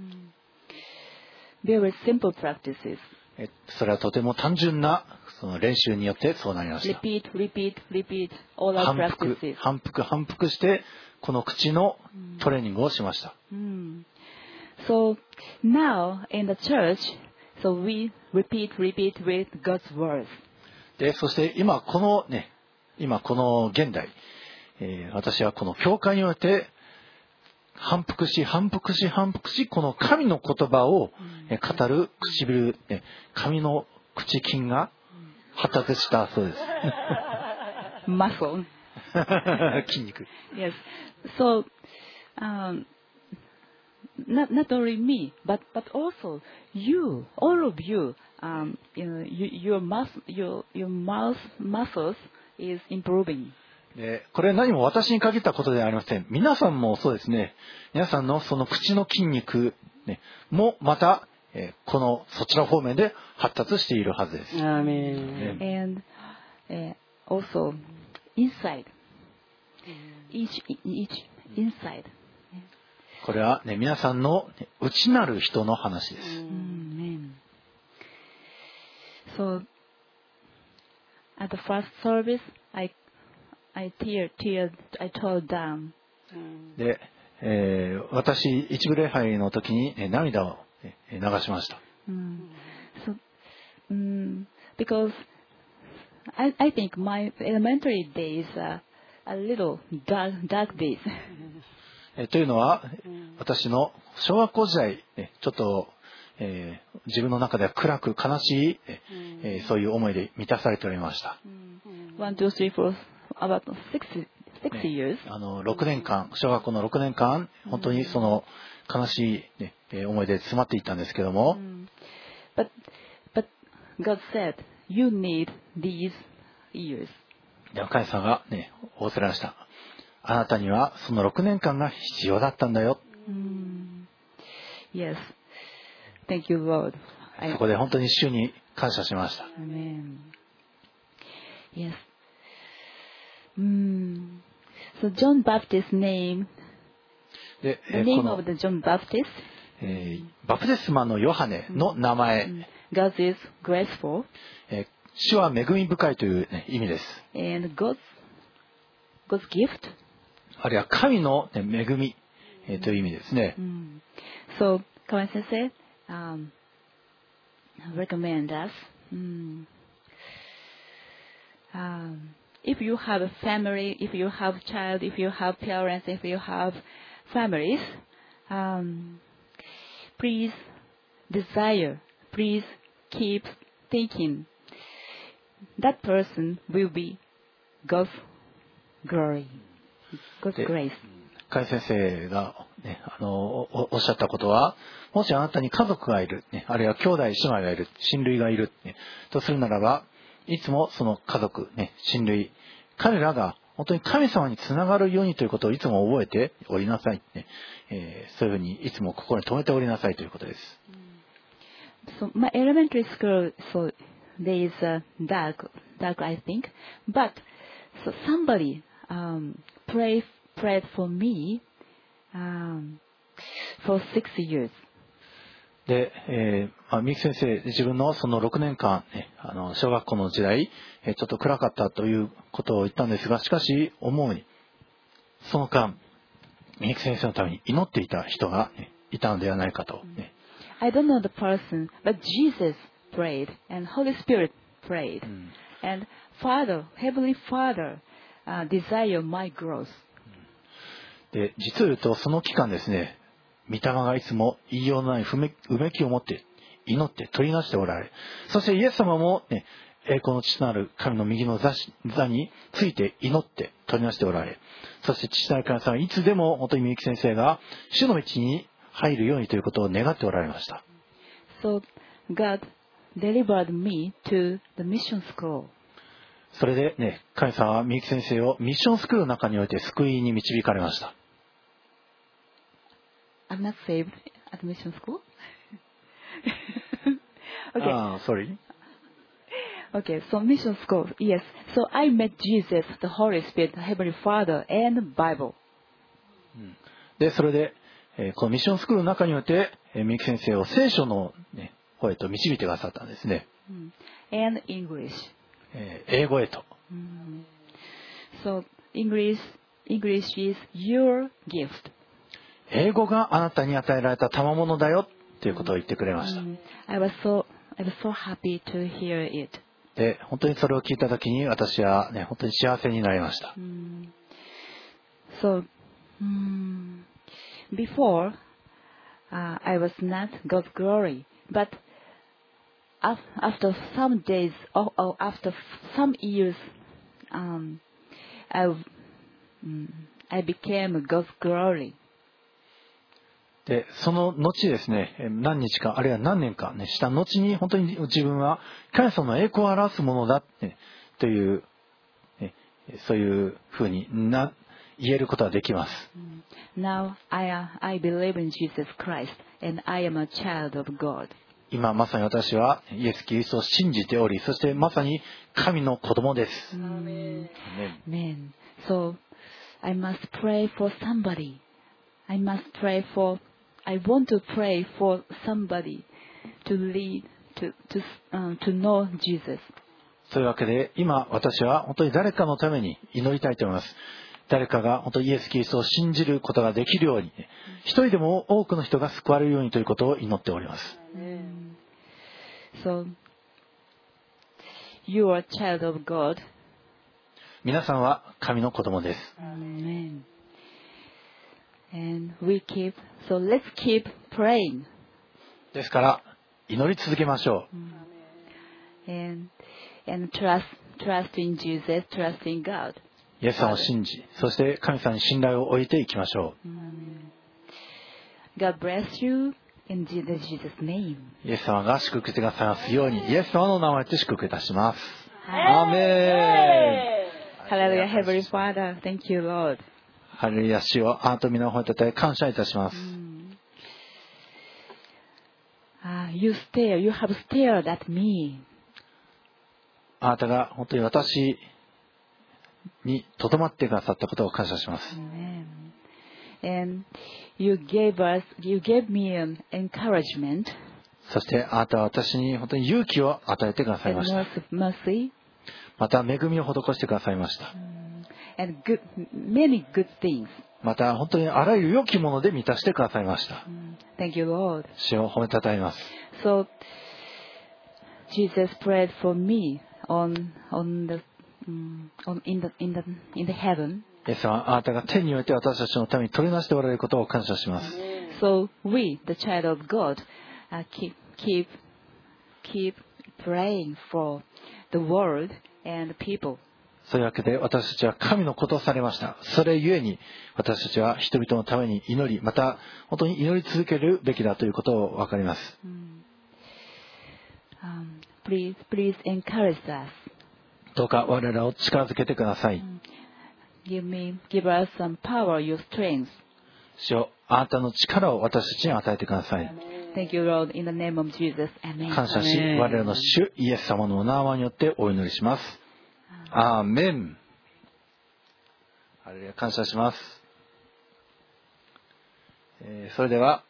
Very simple practices. それはとても単純なその練習によってそうなりました。 Repeat, all our practices. 反復してこの口のトレーニングをしました。 So now in the church, so we repeat with God's words. で、そして今この現代、私はこの教会において反復しこの神の言葉を語る唇、神の口筋が発達したそうです。 Muscle. 筋肉。 Yes. So not only me, but also you, all of you, your mouth muscles is improving. でこれは何も私に限ったことではありません。皆さんもそうですね。皆さんのその口の筋肉、ね、もまた、そちら方面で発達しているはずです。 And also inside, each inside. これは、ね、皆さんの内なる人の話です。 So at the first service, I told them. で、私一部礼拝の時に涙を流しました。 Because I think my elementary days are a little dark days. というのは、私の小学校時代、ちょっと、自分の中では暗く悲しい、そういう思いで満たされておりました。 1, 2, 3, 4, about 6 years. 6年間、小学校の6年間、本当にその悲しい、思いで詰まっていったんですけども。 But God said, you need these years. 神様がね、仰せられました。あなたにはその6年間が必要だったんだよ。 Yes. Thank you, Lord. そこで本当に主に感謝しました。 Amen. Yes. So John Baptist's name. で、 The name of the John Baptist. バプテスマのヨハネの名前。 God is graceful. 主は恵み深いという、意味です。 And God's gift. あるいは神の、恵み、という意味ですね。 So, Kawan Sensei recommend us. If you have a family, if you have child, if you have parents, if you have families, please keep thinking that person will be God's glory, God's grace. 甲斐先生が、おっしゃったことは、もしあなたに家族がいる、あるいは兄弟姉妹がいる、親類がいる、とするならば、いつもその家族、親類、彼らが本当に神様につながるようにということをいつも覚えておりなさい、そういうふうにいつも心に留めておりなさいということです。 So my elementary school, so there is a dark I think, but so somebody prayed for me for 6 years. で、三木先生、自分のその6年間、小学校の時代、ちょっと暗かったということを言ったんですが、しかし思うに、その間、三木先生のために祈っていた人が、いたのではないかと。 I don't know the person, but Jesus prayed and Holy Spirit prayed, and Heavenly Father, desire my growth. で、実を言うとその期間ですね、御霊がいつも言いようのないうめきを持って祈って取りなしておられ、そしてイエス様も、栄光の父なる神の右の座について祈って取りなしておられ、そして父なる神様はいつでも本当にみゆき先生が主の道に入るようにということを願っておられました。 So God delivered me to the mission school. それでね、神様はみゆき先生をミッションスクールの中において救いに導かれました。 I'm not saved at mission school. Okay. Sorry. Okay, so mission school, yes. So I met Jesus, the Holy Spirit, the Heavenly Father, and the Bible. で、それで、このミッションスクールの中において、みゆき先生を聖書の、方へと導いてくださったんですね。 And English. 英語へと。 So English is your gift. 英語があなたに与えられた賜物だよということを言ってくれました。 I was so happy to hear it. で、本当にそれを聞いたときに私はね、本当に幸せになりました。 So, before, I was not God's glory, but after some days, or after some years, I became God's glory. でその後ですね、何日かあるいは何年か、ね、した後に本当に自分は神様の栄光を表すものだ、ね、という、ね、そういうふうに言えることができます。 Now I believe in Jesus Christ and I am a child of God. 今まさに私はイエス・キリストを信じており、そしてまさに神の子供です。 Amen. So I must pray for somebody. I want to pray for somebody to lead to know Jesus. というわけで今私は本当に誰かのために祈りたいと思います。誰かが本当にイエス・キリストを信じることができるように、一人でも多くの人が救われるようにということを祈っております。 So you are a child of God. 皆さんは神の子供です。 Amen. And so let's keep praying. ですから祈り続けましょう。And trust in Jesus, trust in God. イエス様を信じ、そして神様に信頼を置いていきましょう。God bless you in Jesus' name. イエス様が祝福してくださいますように、イエス様の名前で祝福いたします。アーメン。 Hallelujah, Heavenly Father, thank you, Lord. ハレルヤ、主よ、あなた皆を褒めたたえ感謝いたします。 You have stared at me. あなたが本当に私にとどまってくださったことを感謝します。 And you gave me an encouragement. そしてあなたは私に本当に勇気を与えてくださいました。 Mercy. また恵みを施してくださいました。 And many good things. また本当にあらゆる良きもので満たしてくださいました。 Thank you, Lord. 主を褒めたたえます。 So Jesus prayed for me in the heaven. イエス様、あなたが天において私たちのために取りなしておられることを感謝します。 So we, the child of God, keep praying for the world and people. そういうわけで私たちは神の子とされました。それゆえに私たちは人々のために祈り、また本当に祈り続けるべきだということを分かります。 Please encourage us. どうか我らを力づけてください。 Give us some power, your strength. 主よ、あなたの力を私たちに与えてください。 Thank you, Lord, in the name of Jesus. Amen. 感謝し、我らの主イエス様のお名前によってお祈りします。アーメン。ハレルヤ、感謝します。それでは、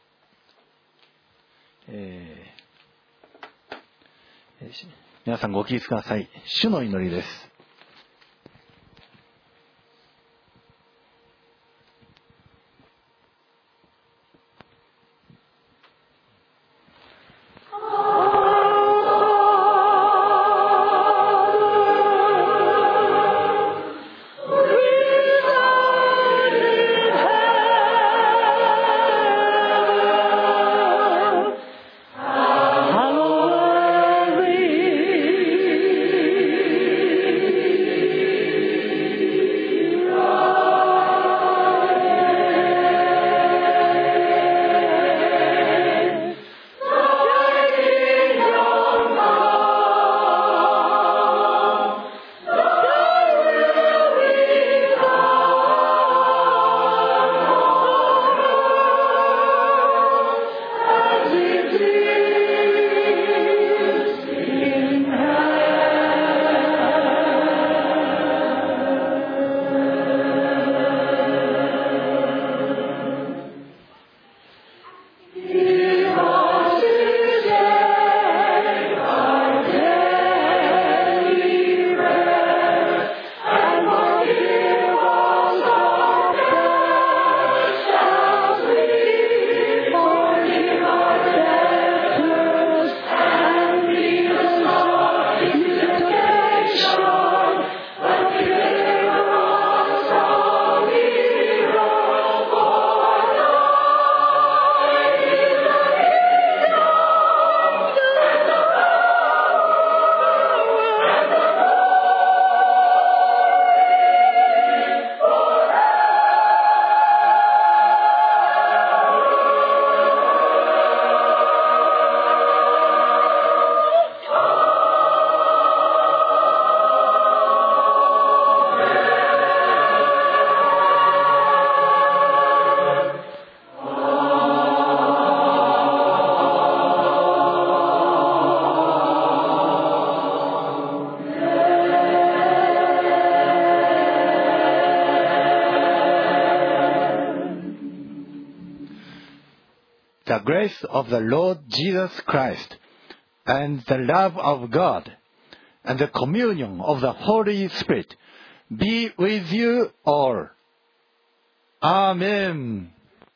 皆さんご起立ください。主の祈りです。 the grace of the Lord Jesus Christ and the love of God and the communion of the Holy Spirit be with you all. Amen.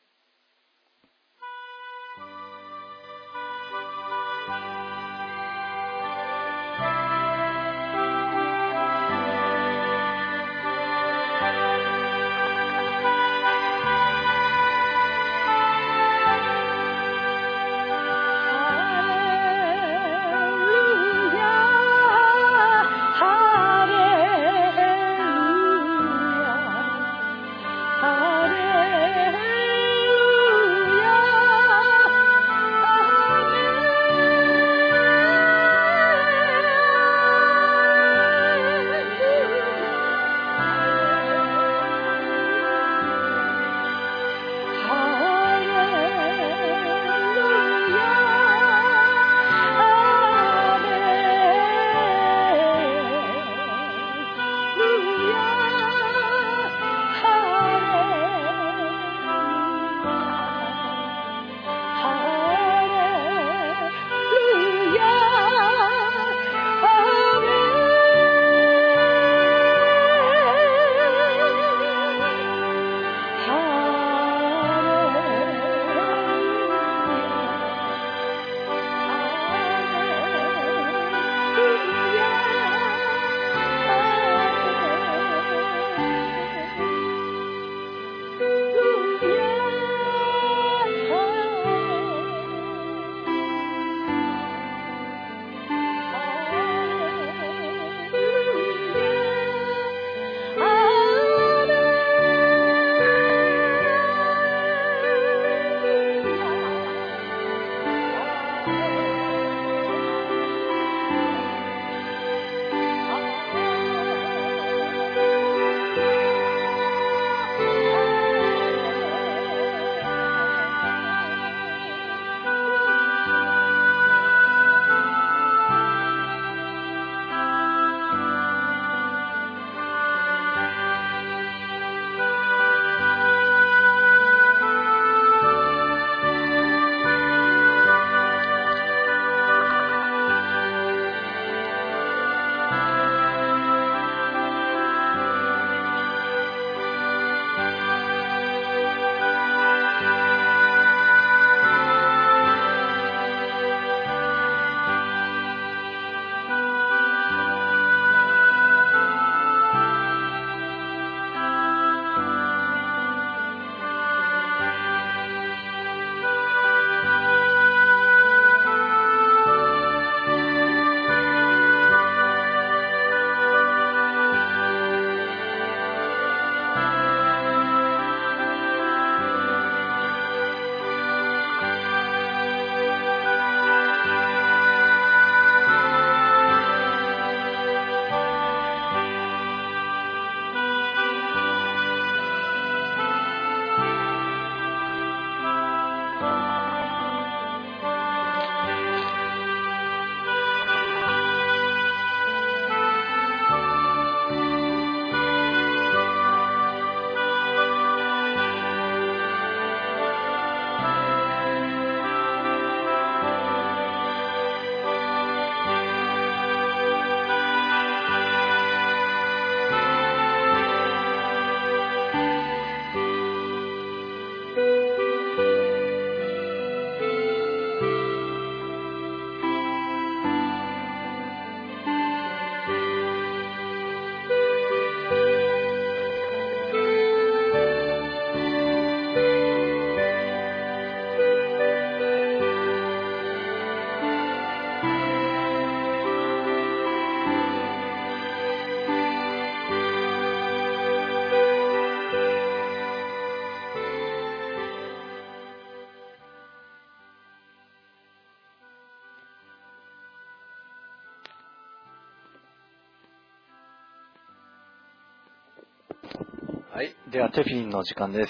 はい、ではテフィンの時間です。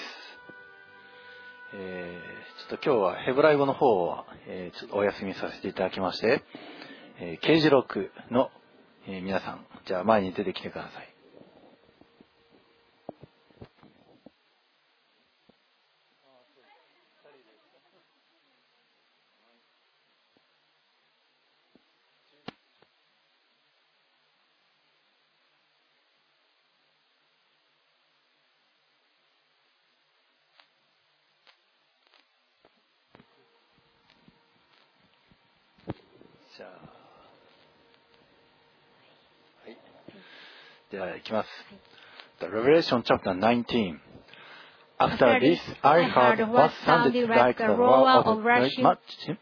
ちょっと今日はヘブライ語の方は、ちょっとお休みさせていただきまして、啓示録の、皆さん、じゃあ前に出てきてください。 じゃあ、はい、では行きます。The Revelation chapter 19. After this, I heard what sounded like the roar of a great multitude.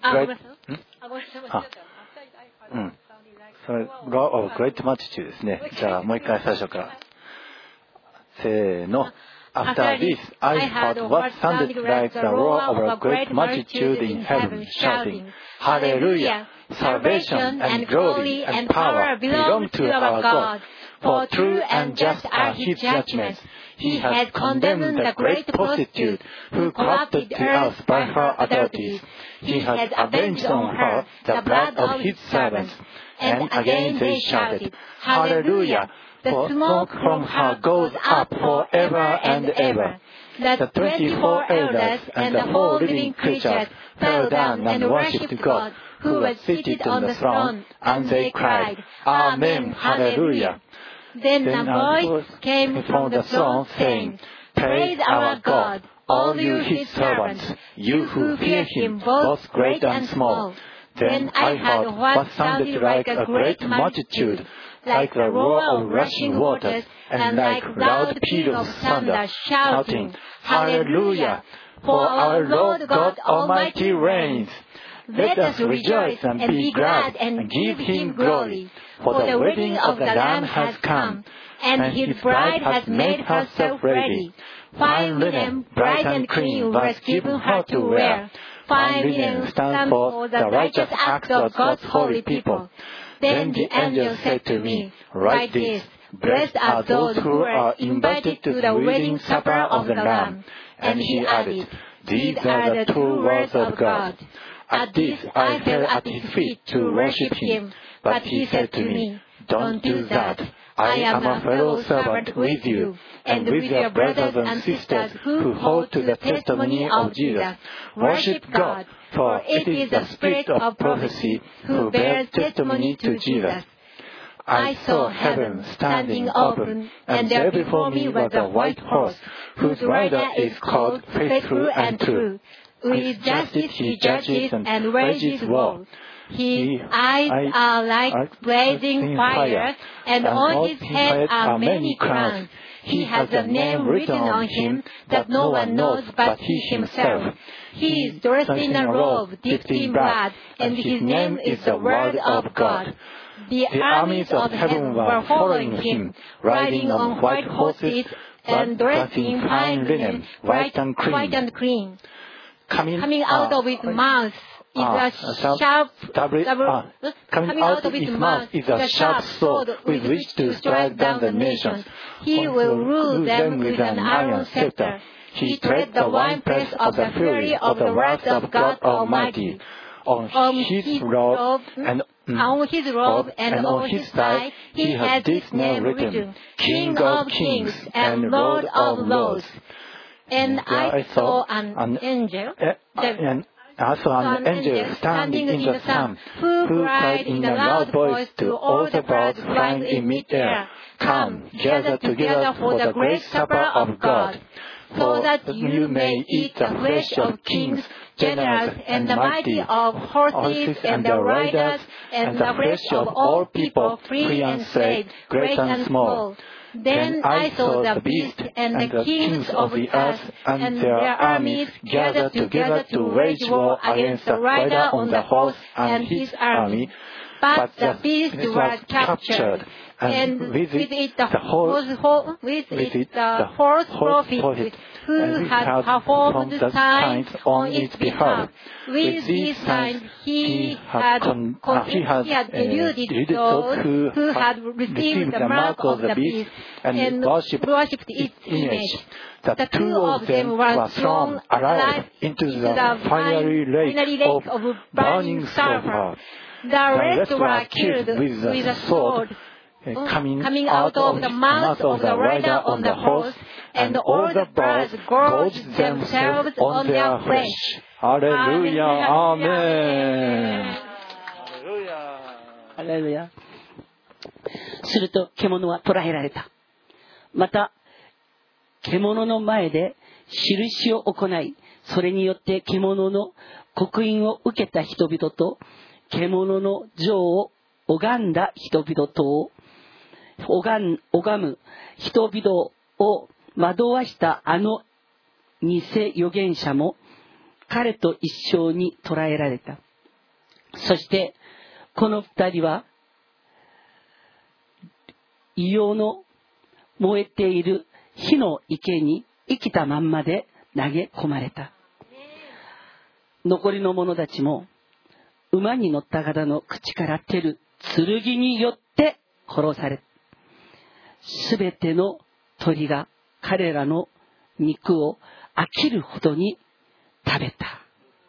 Roar of a great multitude ですね。じゃあもう一回最初から。せーの。After this, I heard what sounded like the roar of a great multitude in heaven, shouting, Hallelujah! Salvation and glory and power belong to our God. For true and just are His judgments. He has condemned the great prostitute who corrupted the earth by her adulteries. He has avenged on her the blood of His servants. And again they shouted, Hallelujah! For smoke from her goes up forever and ever. The 24 elders and the whole living creatures fell down and worshipped God, who was seated on the throne, and they cried, Amen, Hallelujah. Then a voice came from the throne saying, Praise our God, all you His servants, you who fear Him, both great and small. Then I heard what sounded like a great multitude, like the roar of rushing waters, and like loud peals of thunder, shouting, Hallelujah! For our Lord God Almighty reigns. Let us rejoice and be glad and give Him glory. For the wedding of the Lamb has come, and His bride has made herself ready. Fine linen, bright and clean, was given her to wear. Fine linen stands for the righteous acts of God's holy people. Then the angel said to me, Write this, Blessed are those who are invited to the wedding supper of the Lamb. And he added, These are the true words of God. At this I fell at His feet to worship Him, but He said to me, Don't do that. I am a fellow servant with you, and with your brothers and sisters who hold to the testimony of Jesus. Worship God, for it is the spirit of prophecy who bears testimony to Jesus. I saw heaven standing open, and there before me was a white horse, whose rider is called Faithful and True. With justice He judges and wages war. His eyes are like blazing fire, and on His head are many crowns. He has a name written on Him that no one knows but He Himself. He is dressed in a robe dipped in blood, and His name is the Word of God. The armies of heaven were following Him, riding on white horses and dressed in fine linen, white and clean. Coming out of His mouth is a sharp sword with which to strike down the nations. He will rule them with an iron scepter. He treads the winepress of the fury of the wrath of God Almighty. On his robe and on his thigh he has this name written, King of Kings and Lord of Lords. And I saw an angel standing in the sun, who cried in a loud voice to all the birds flying in mid-air, Come, gather together for the great supper of God, so that you may eat the flesh of kings, generals, and the mighty, of horses and their riders, and the flesh of all people, free and slave, great and small. Then I saw the beast and the kings of the earth and their armies gathered together to wage war against the rider on the horse and his army. But the beast was captured, and with it the false prophet who had performed signs on its behalf. With these signs he had deluded those who had received the mark of the beast and worshipped its image. The two of them were thrown alive into the fiery lake of burning sulfur. The rest were killed with a sword coming out of the mouth of the rider on the horse, and all the birds gorged themselves on their flesh. Hallelujah! Amen! Hallelujah! すると獣は捕らえられた。また獣の前で印を行い、それによって獣の刻印を受けた人々と獣の像を拝んだ人々と拝む人々を惑わしたあの偽預言者も彼と一緒に捕らえられた。そしてこの二人は異様の燃えている火の池に生きたまんまで投げ込まれた。残りの者たちも馬に乗った方の口から出る剣によって殺され、すべての鳥が彼らの肉を飽きるほどに食べた。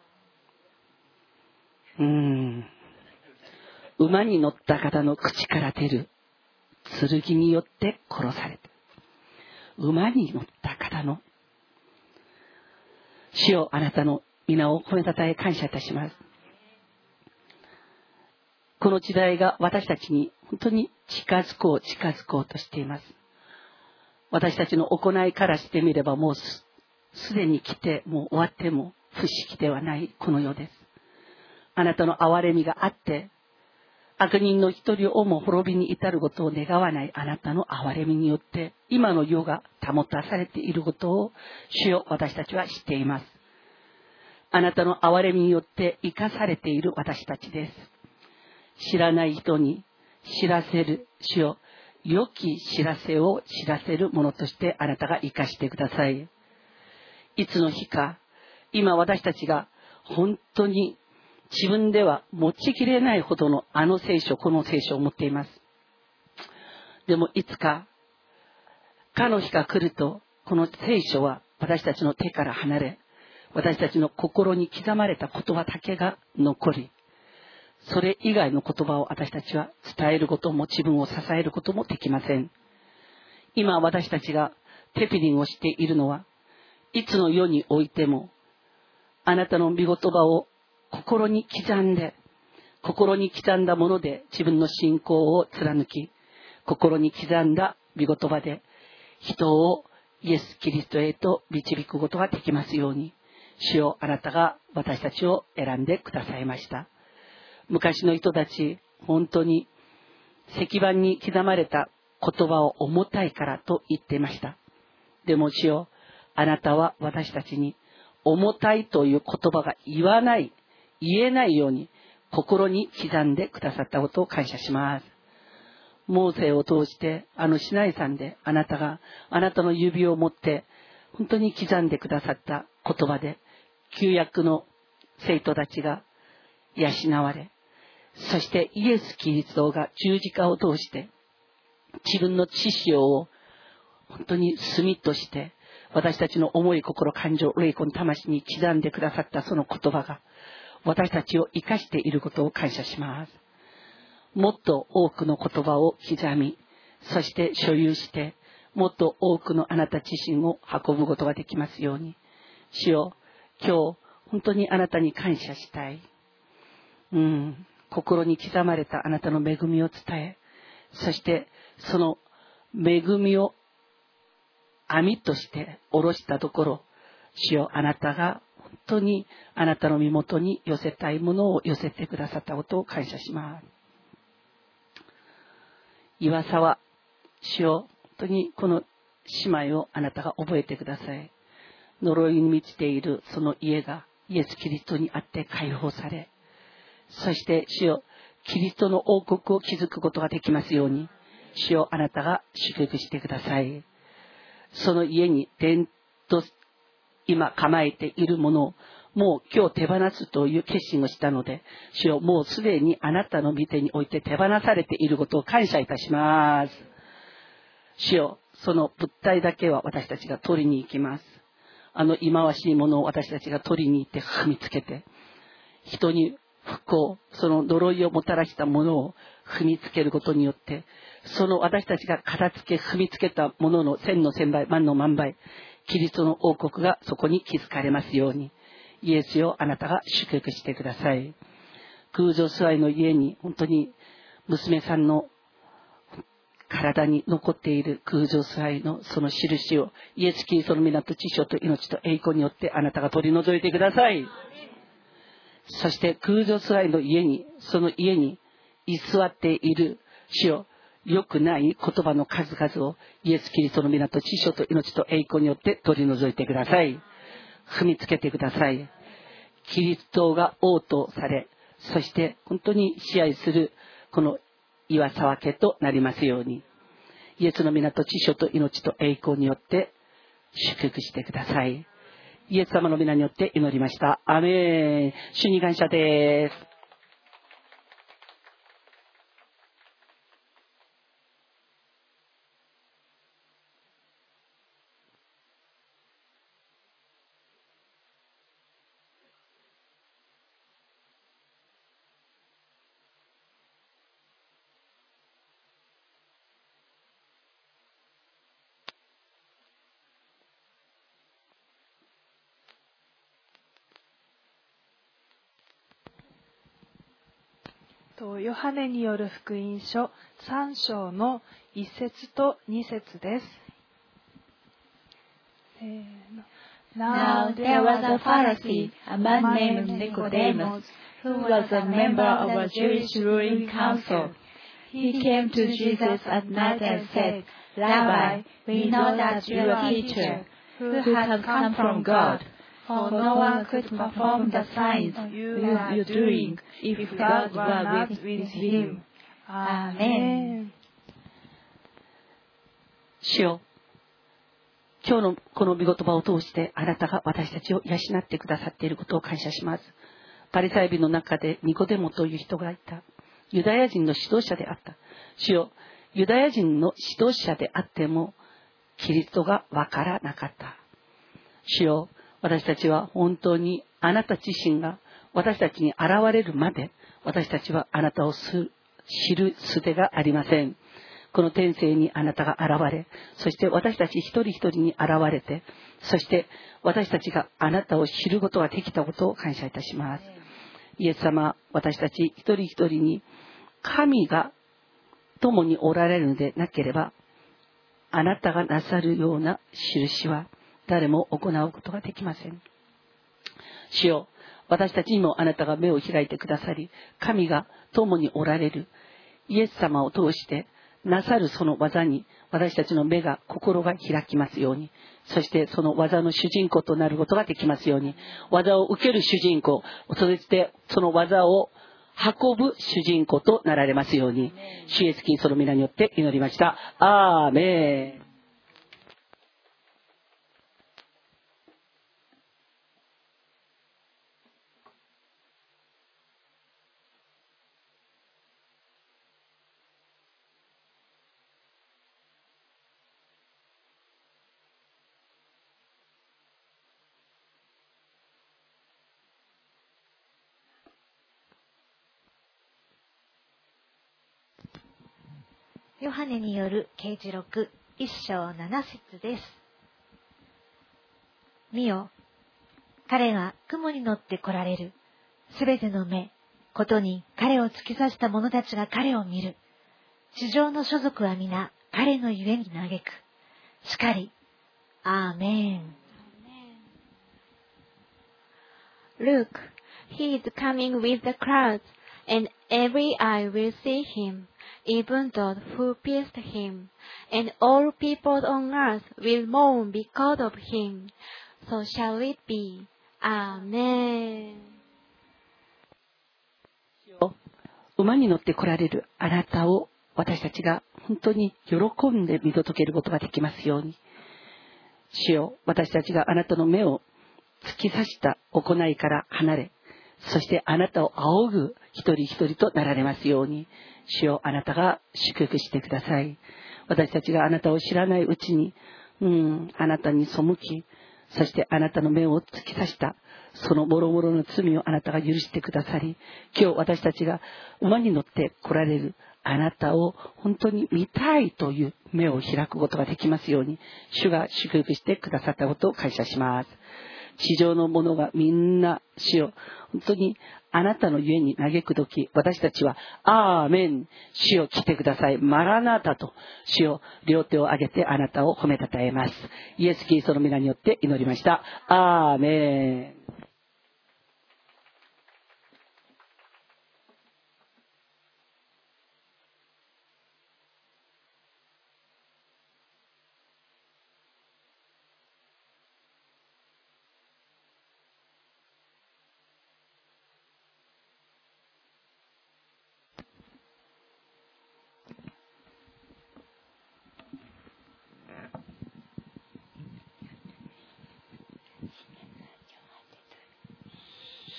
馬に乗った方の口から出る剣によって殺された。馬に乗った方の、主よ、あなたの皆を褒めたたえ感謝いたします。この時代が私たちに本当に近づこうとしています。私たちの行いからしてみればもうすでに来てもう終わっても不思議ではないこの世です。あなたの憐れみがあって悪人の一人をも滅びに至ることを願わないあなたの憐れみによって今の世が保たされていることを主よ、私たちは知っています。あなたの憐れみによって生かされている私たちです。知らない人に知らせる、主よ、良き知らせを知らせるものとしてあなたが生かしてください。いつの日か、今私たちが本当に自分では持ちきれないほどのあの聖書、この聖書を持っています。でもいつか、かの日が来ると、この聖書は私たちの手から離れ、私たちの心に刻まれた言葉だけが残り、それ以外の言葉を私たちは伝えることも自分を支えることもできません。今私たちがテピリンをしているのは、いつの世においてもあなたの御言葉を心に刻んだもので自分の信仰を貫き、心に刻んだ御言葉で人をイエス・キリストへと導くことができますように、主よ、あなたが私たちを選んでくださいました。昔の人たち、本当に石板に刻まれた言葉を重たいからと言っていました。でも主よ、あなたは私たちに重たいという言葉が言えないように心に刻んでくださったことを感謝します。モーセを通してシナイ山であなたがあなたの指を持って本当に刻んでくださった言葉で旧約の生徒たちが養われ、そしてイエス・キリストが十字架を通して自分の血潮を本当に炭として私たちの思い、心、感情、霊魂、魂に刻んでくださったその言葉が私たちを生かしていることを感謝します。もっと多くの言葉を刻み、そして所有してもっと多くのあなた自身を運ぶことができますように。主よ、今日本当にあなたに感謝したい。心に刻まれたあなたの恵みを伝え、そしてその恵みを網として下ろしたところ、主よ、あなたが本当にあなたの身元に寄せたいものを寄せてくださったことを感謝します。岩沢、主よ、本当にこの姉妹をあなたが覚えてください。呪いに満ちているその家がイエス・キリストにあって解放され、そして主よ、キリストの王国を築くことができますように、主よ、あなたが祝福してください。その家に伝と今構えているものをもう今日手放すという決心をしたので、主よ、もうすでにあなたの御手において手放されていることを感謝いたします。主よ、その物体だけは私たちが取りに行きます。忌まわしいものを私たちが取りに行って踏みつけて、人に不幸、その呪いをもたらしたものを踏みつけることによって、その私たちが片付け踏みつけたものの千の千倍、万の万倍、キリストの王国がそこに築かれますように、イエスよ、あなたが祝福してください。空女座の家に本当に娘さんの体に残っている空女座のその印をイエス・キリストの皆と知性と命と栄光によってあなたが取り除いてください。 そして空女使いの家に、その家に居座っている主よ、良くない言葉の数々をイエス・キリストの皆と知性と命と栄光によって取り除いてください。踏みつけてください。キリストが王とされ、そして本当に支配するこの岩沢家となりますように、イエスの皆と知性と命と栄光によって祝福してください。イエス様の皆によって祈りました。アーメン。主に感謝です。 ヨハネによる福音書3章の1節と2節です。 Now there was a Pharisee, a man named Nicodemus, who was a member of a Jewish ruling council. He came to Jesus at night and said, Rabbi, we know that you are a teacher who has come from God, for no one could perform the signs you are doing if God were with him. Amen. 主よ、今日のこの御言葉を通してあなたが私たちを養ってくださっていることを感謝します。パリサイ人の中でニコデモという人がいた。ユダヤ人の指導者であった。主よ、ユダヤ人の指導者であってもキリストがわからなかった。主よ、私たちは本当にあなた自身が私たちに現れるまで私たちはあなたを知る術がありません。この天性にあなたが現れ、そして私たち一人一人に現れて、そして私たちがあなたを知ることができたことを感謝いたします。イエス様、私たち一人一人に神が共におられるのでなければ、あなたがなさるような印は誰も行うことができません。主よ、私たちにもあなたが目を開いてくださり、神が共におられるイエス様を通してなさるその技に私たちの目が心が開きますように、そしてその技の主人公となることができますように、技を受ける主人公、そしてその技を運ぶ主人公となられますように、主イエスキリストの皆によって祈りました。アーメン。 ヨハネによる啓示録1章7節です。見よ、彼が雲に乗って来られる。すべての目、ことに彼を突き刺した者たちが彼を見る。地上の所属は皆彼のゆえに嘆く。しかり、アーメン。 Look, he is coming with the clouds, and every eye will see him, even those who pierced him, and all people on earth will mourn because of him. So shall it be. Amen. 馬に乗って来られるあなたを私たちが本当に喜んで見届けることができますように。主よ、私たちがあなたの目を突き刺した行いから離れ、そしてあなたを仰ぐ一人一人となられますように、主よ、あなたが祝福してください。私たちがあなたを知らないうちに、あなたに背き、そしてあなたの目を突き刺したそのもろもろの罪をあなたが許してくださり、今日私たちが馬に乗って来られるあなたを本当に見たいという目を開くことができますように、主が祝福してくださったことを感謝します。地上の者がみんな主を本当にあなたのゆえに嘆くとき、私たちはアーメン、主よ来てください、マラナタと主よ両手を上げてあなたを褒めたたえます。イエスキリストの皆によって祈りました。アーメン。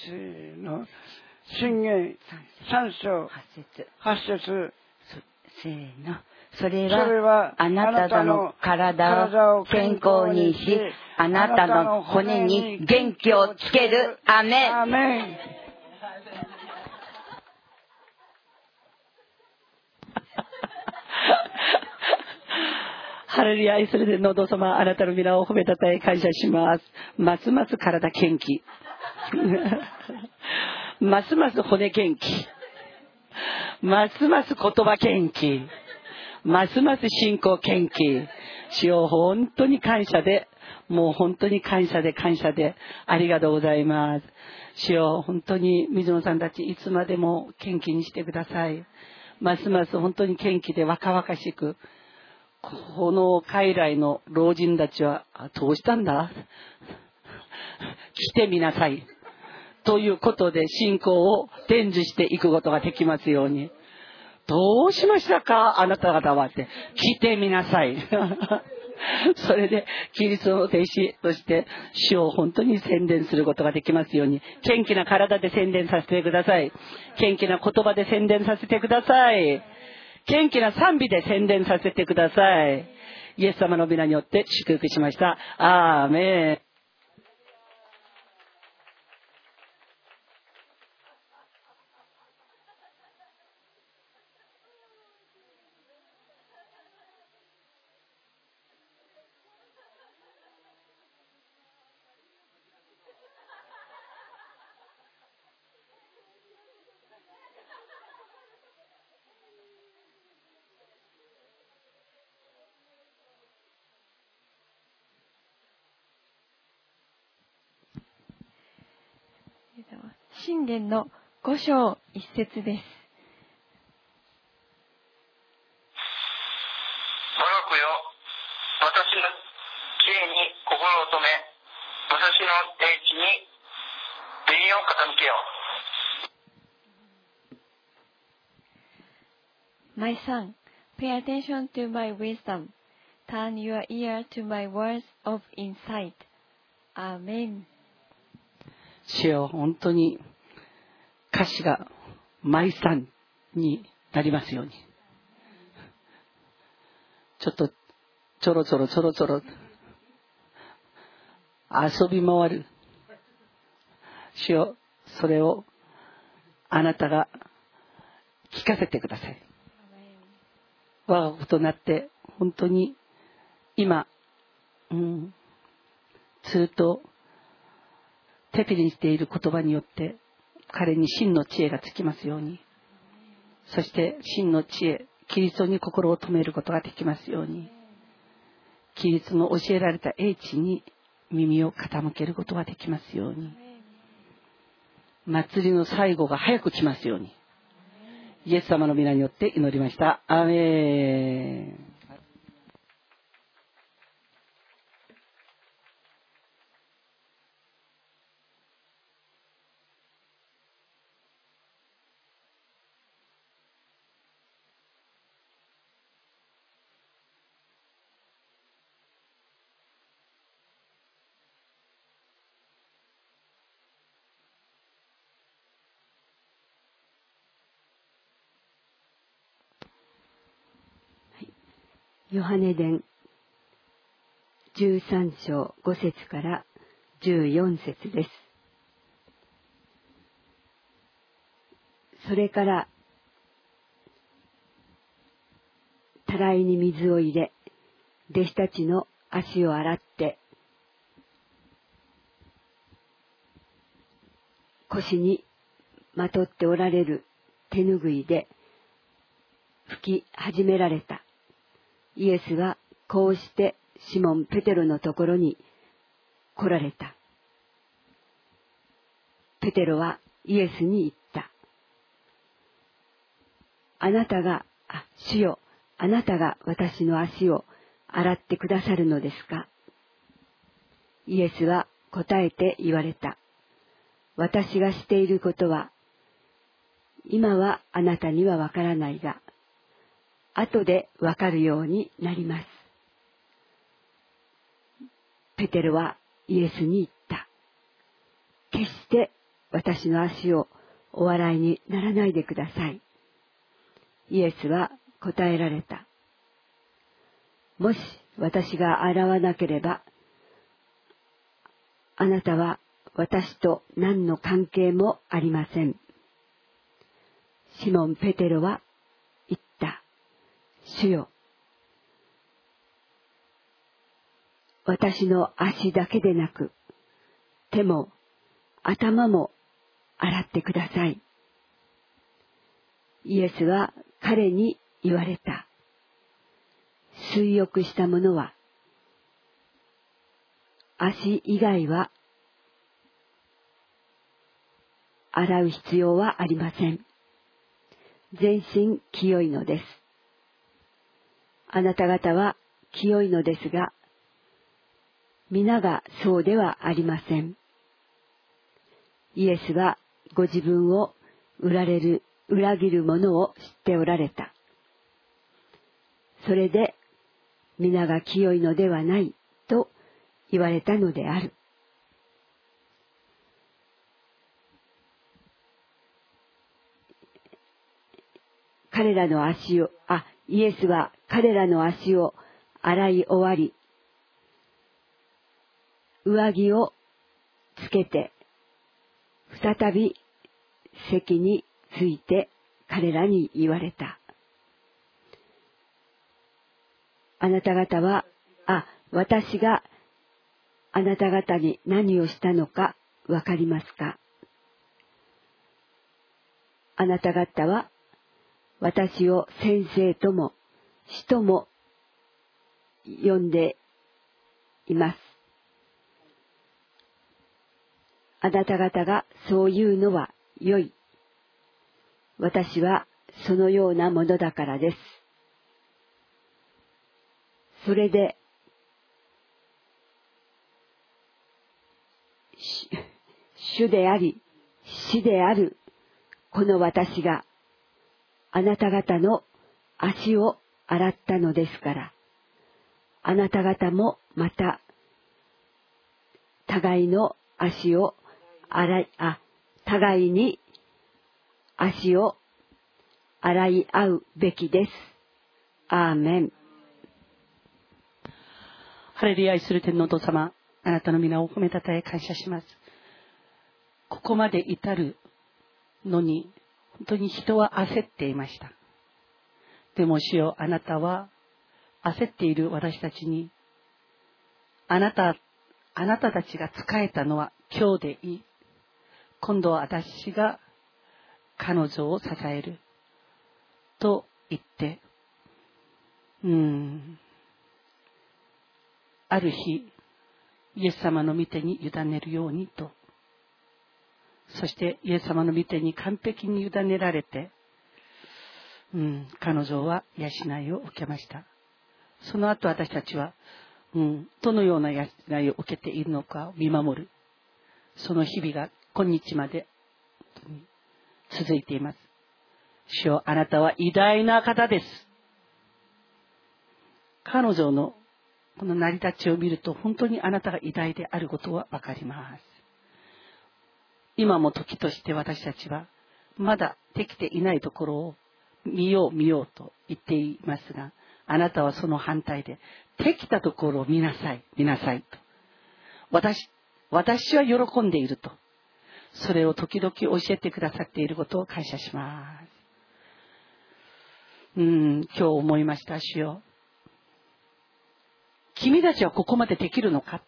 箴言3章8節。 せーの。それはあなたの体を健康にし、あなたの骨に元気をつける。アメン。 アメン。 ハレルヤ。それでのど様、あなたの皆を褒めたたえ感謝します。ますます体元気。ますます骨元気。ますます言葉元気。ますます信仰元気。主よ、本当に感謝で、もう本当に感謝でありがとうございます。主よ、本当に水野さんたちいつまでも元気にしてください。ますます本当に元気で若々しく、この海外の老人たちはどうしたんだ来てみなさいということで信仰を伝授していくことができますように。どうしましたかあなた方はって、来てみなさい。それでキリストの弟子として主を本当に宣伝することができますように、元気な体で宣伝させてください。元気な言葉で宣伝させてください。元気な賛美で宣伝させてください。イエス様の皆によって祝福しました。アーメン。 箴言の5章1節です。 我が子よ、私の知恵に心を留め、私の英知に耳を傾けよう。My son, pay attention to my wisdom. Turn your ear to my words of insight. Amen. 主よ、本当に歌詞がマイさんになりますように。ちょっとちょろちょろ遊び回る。主よ、それをあなたが聞かせてください。我が子となって本当に今、ずっと手ピリにしている言葉によって彼に真の知恵がつきますように、そして真の知恵、キリストに心を留めることができますように、キリストの教えられた英知に耳を傾けることができますように、祭りの最後が早く来ますように、イエス様の皆によって祈りました。アーメン。 ヨハネ伝13章5節から14節です。それからたらいに水を入れ、弟子たちの足を洗って、腰にまとっておられる手ぬぐいで拭き始められた。イエスはこうしてシモン・ペテロのところに来られた。ペテロはイエスに言った。主よ、あなたが私の足を洗ってくださるのですか？イエスは答えて言われた。私がしていることは、今はあなたにはわからないが、後でわかるようになります。ペテロはイエスに言った。決して私の足をお笑いにならないでください。イエスは答えられた。もし私が洗わなければ、あなたは私と何の関係もありません。シモン・ペテロは言った。主よ、私の足だけでなく、手も頭も洗ってください。イエスは彼に言われた。水浴した者は、足以外は洗う必要はありません。全身清いのです。あなた方は清いのですが、皆がそうではありません。イエスはご自分を裏切る者を知っておられた。それで皆が清いのではないと言われたのである。イエスは彼らの足を洗い終わり、上着をつけて、再び席について彼らに言われた。あなた方は、私があなた方に何をしたのかわかりますか？あなた方は私を先生とも師とも呼んでいます。あなた方がそう言うのは良い。私はそのようなものだからです。それで、主であり、死であるこの私があなた方の足を洗ったのですから、あなた方もまた互いに足を洗い合うべきです。アーメン。 ハレルヤ、愛する天のお父様、あなたの皆を褒めたたえ感謝します。ここまで至るのに本当に人は焦っていました。でも主よ、あなたは焦っている私たちに、あなたたちが仕えたのは今日でいい。今度は私が彼女を支えると言って、ある日イエス様の御手に委ねるようにと、そしてイエス様の御手に完璧に委ねられて、彼女は養いを受けました。その後私たちは、どのような養いを受けているのかを見守る、その日々が今日まで続いています。主よ、あなたは偉大な方です。彼女のこの成り立ちを見ると、本当にあなたが偉大であることはわかります。今も時として私たちはまだできていないところを見ようと言っていますが、あなたはその反対で、できたところを見なさいと。私は喜んでいると。それを時々教えてくださっていることを感謝します。今日思いました。主よ、君たちはここまでできるのか。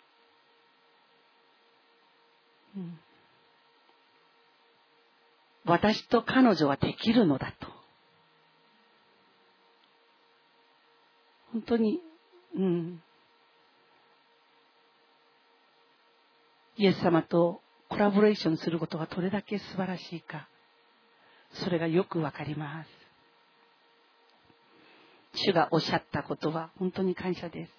私と彼女はできるのだと。本当に、イエス様とコラボレーションすることがどれだけ素晴らしいか、それがよくわかります。主がおっしゃったことは本当に感謝です。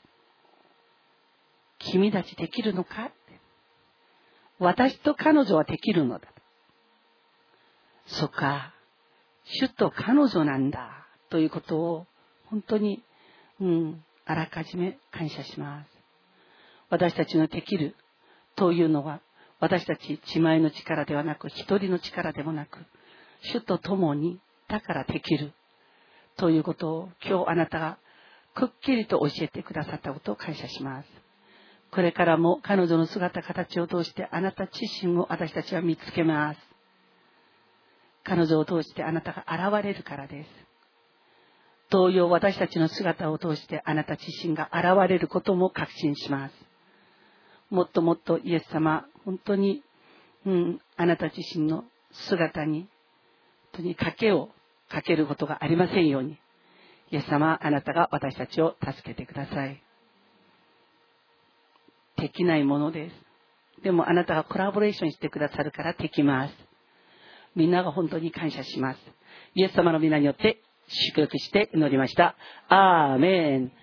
君たちできるのかって。私と彼女はできるのだ。そっか、主と彼女なんだということを本当に、あらかじめ感謝します。私たちのできるというのは、 私たち自前の力ではなく、一人の力でもなく、主と共にだからできるということを今日あなたがくっきりと教えてくださったことを感謝します。これからも彼女の姿形を通してあなた自身を私たちは見つけます。彼女を通してあなたが現れるからです。同様私たちの姿を通してあなた自身が現れることも確信します。もっともっとイエス様、本当に、あなた自身の姿に本当に賭けをかけることがありませんように、イエス様、あなたが私たちを助けてください。できないものです。でもあなたがコラボレーションしてくださるからできます。みんなが本当に感謝します。イエス様の皆によって祝福して祈りました。アーメン。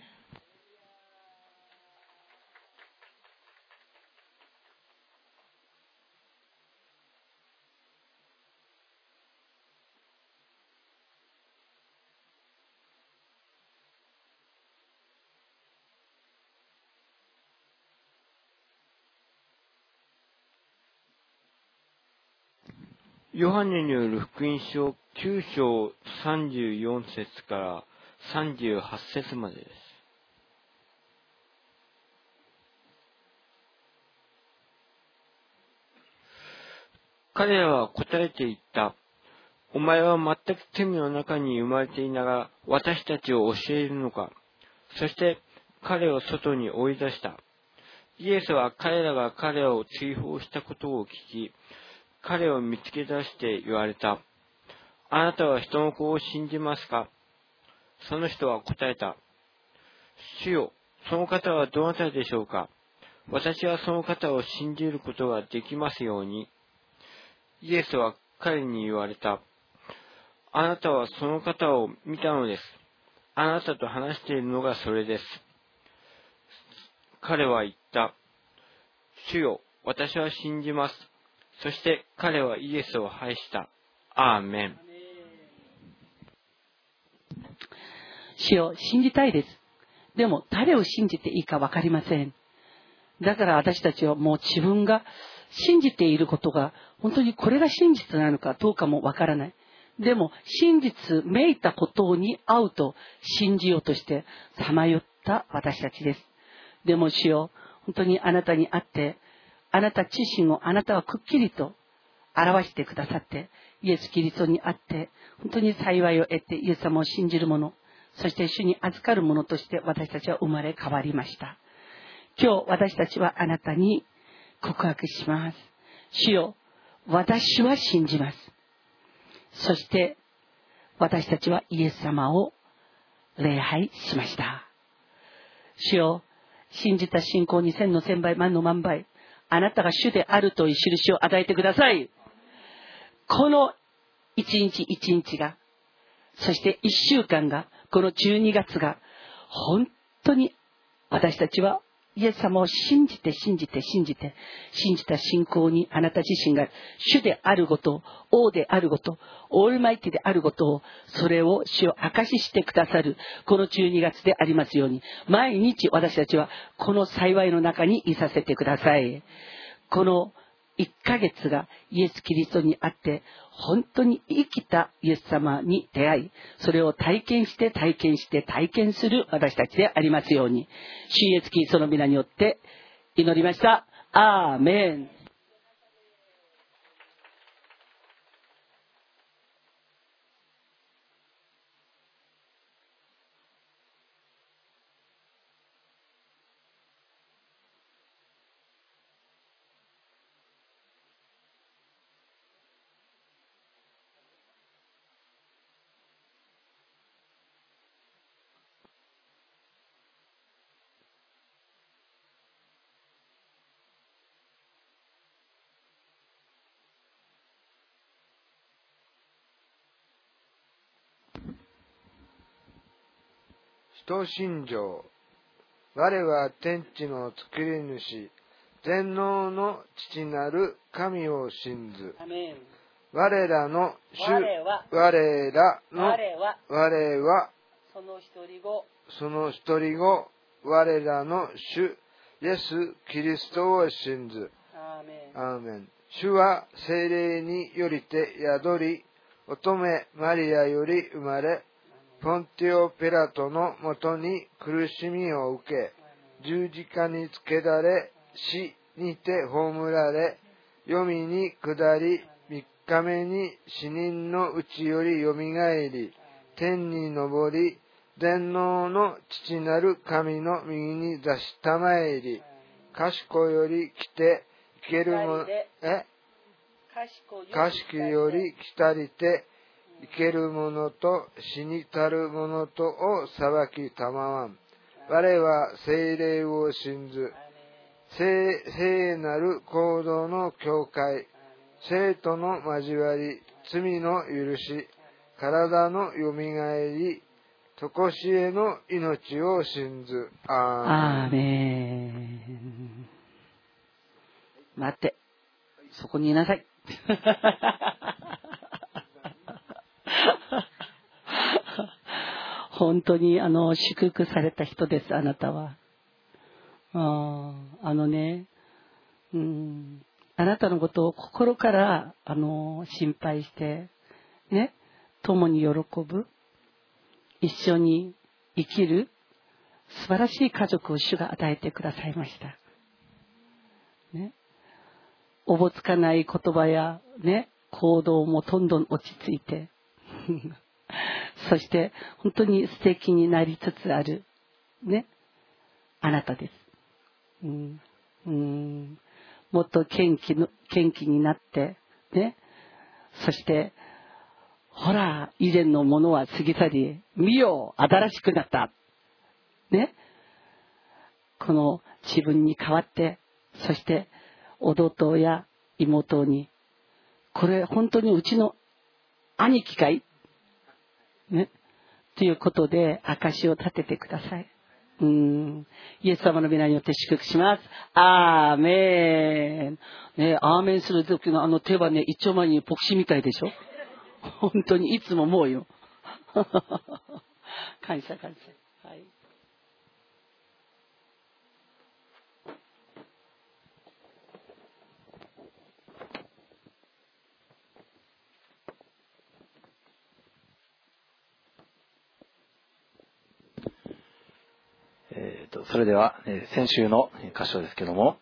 ヨハネによる福音書9章34節から38節までです。彼らは答えて言った。お前は全く罪の中に生まれていながら私たちを教えるのか。そして彼を外に追い出した。イエスは彼らが彼を追放したことを聞き、彼を見つけ出して言われた。あなたは人の子を信じますか？その人は答えた。主よ、その方はどなたでしょうか？私はその方を信じることができますように。イエスは彼に言われた。あなたはその方を見たのです。あなたと話しているのがそれです。彼は言った。主よ、私は信じます。そして彼はイエスを拝した。アーメン。 主を信じたいです。でも誰を信じていいか分かりません。だから私たちはもう自分が信じていることが本当にこれが真実なのかどうかも分からない。でも真実めいたことに会うと信じようとしてさまよった私たちです。でも主よ、本当にあなたに会ってあなた自身をあなたはくっきりと表してくださって、イエス・キリストにあって本当に幸いを得てイエス様を信じる者、そして主に預かる者として私たちは生まれ変わりました。今日私たちはあなたに告白します。主よ、私は信じます。そして私たちはイエス様を礼拝しました。主よ、信じた信仰に千の千倍万の万倍、あなたが主であるという印を与えてください。この一日一日が、そして一週間が、この12月が本当に私たちはイエス様を信じた信仰にあなた自身が主であることを、王であること、オールマイティであることを、それを主を証ししてくださるこの12月でありますように、毎日私たちはこの幸いの中にいさせてください。この1ヶ月がイエス・キリストにあって本当に生きたイエス様に出会い、それを体験する私たちでありますように、主イエス・キリストの皆によって祈りました。アーメン。 使徒信条。我は天地の作り主、全能の父なる神を信ず。我らの主、我はその一人子、我らの主イエス・キリストを信ず。 アーメン。主は聖霊によりて宿り、乙女マリアより生まれ、ポンティオ・ピラトのもとに苦しみを受け、十字架につけられ、死にて葬られ、黄泉に下り、3日目に死人のうちよりよみがえり、天に昇り、全能の父なる神の右に座したまえり、賢より来て生けるも賢より来たりて生ける者と死にたる者とを裁きたまわん。我は聖霊を信ず。聖なる行動の教会、生徒の交わり、罪の許し、体のよみがえり、とこしえの命を信ず。 アーメン。待って、そこにいなさい。本当に祝福された人です、あなたは。あなたのことを心から心配してね、共に喜ぶ、一緒に生きる素晴らしい家族を主が与えてくださいました。ね、おぼつかない言葉やね、行動もどんどん落ち着いて、そして本当に素敵になりつつあるね、あなたです。もっと元気になってね、そしてほら以前のものは過ぎ去り、見よ新しくなったね、この自分に代わって、そして弟や妹に、これ本当にうちの兄貴かいね、ということで証を立ててください。イエス様の皆によって祝福します。アーメン。ね、アーメンする時の手はね、一丁前に牧師みたいでしょ。本当にいつももうよ。感謝。はい。 それでは、先週の箇所ですけども、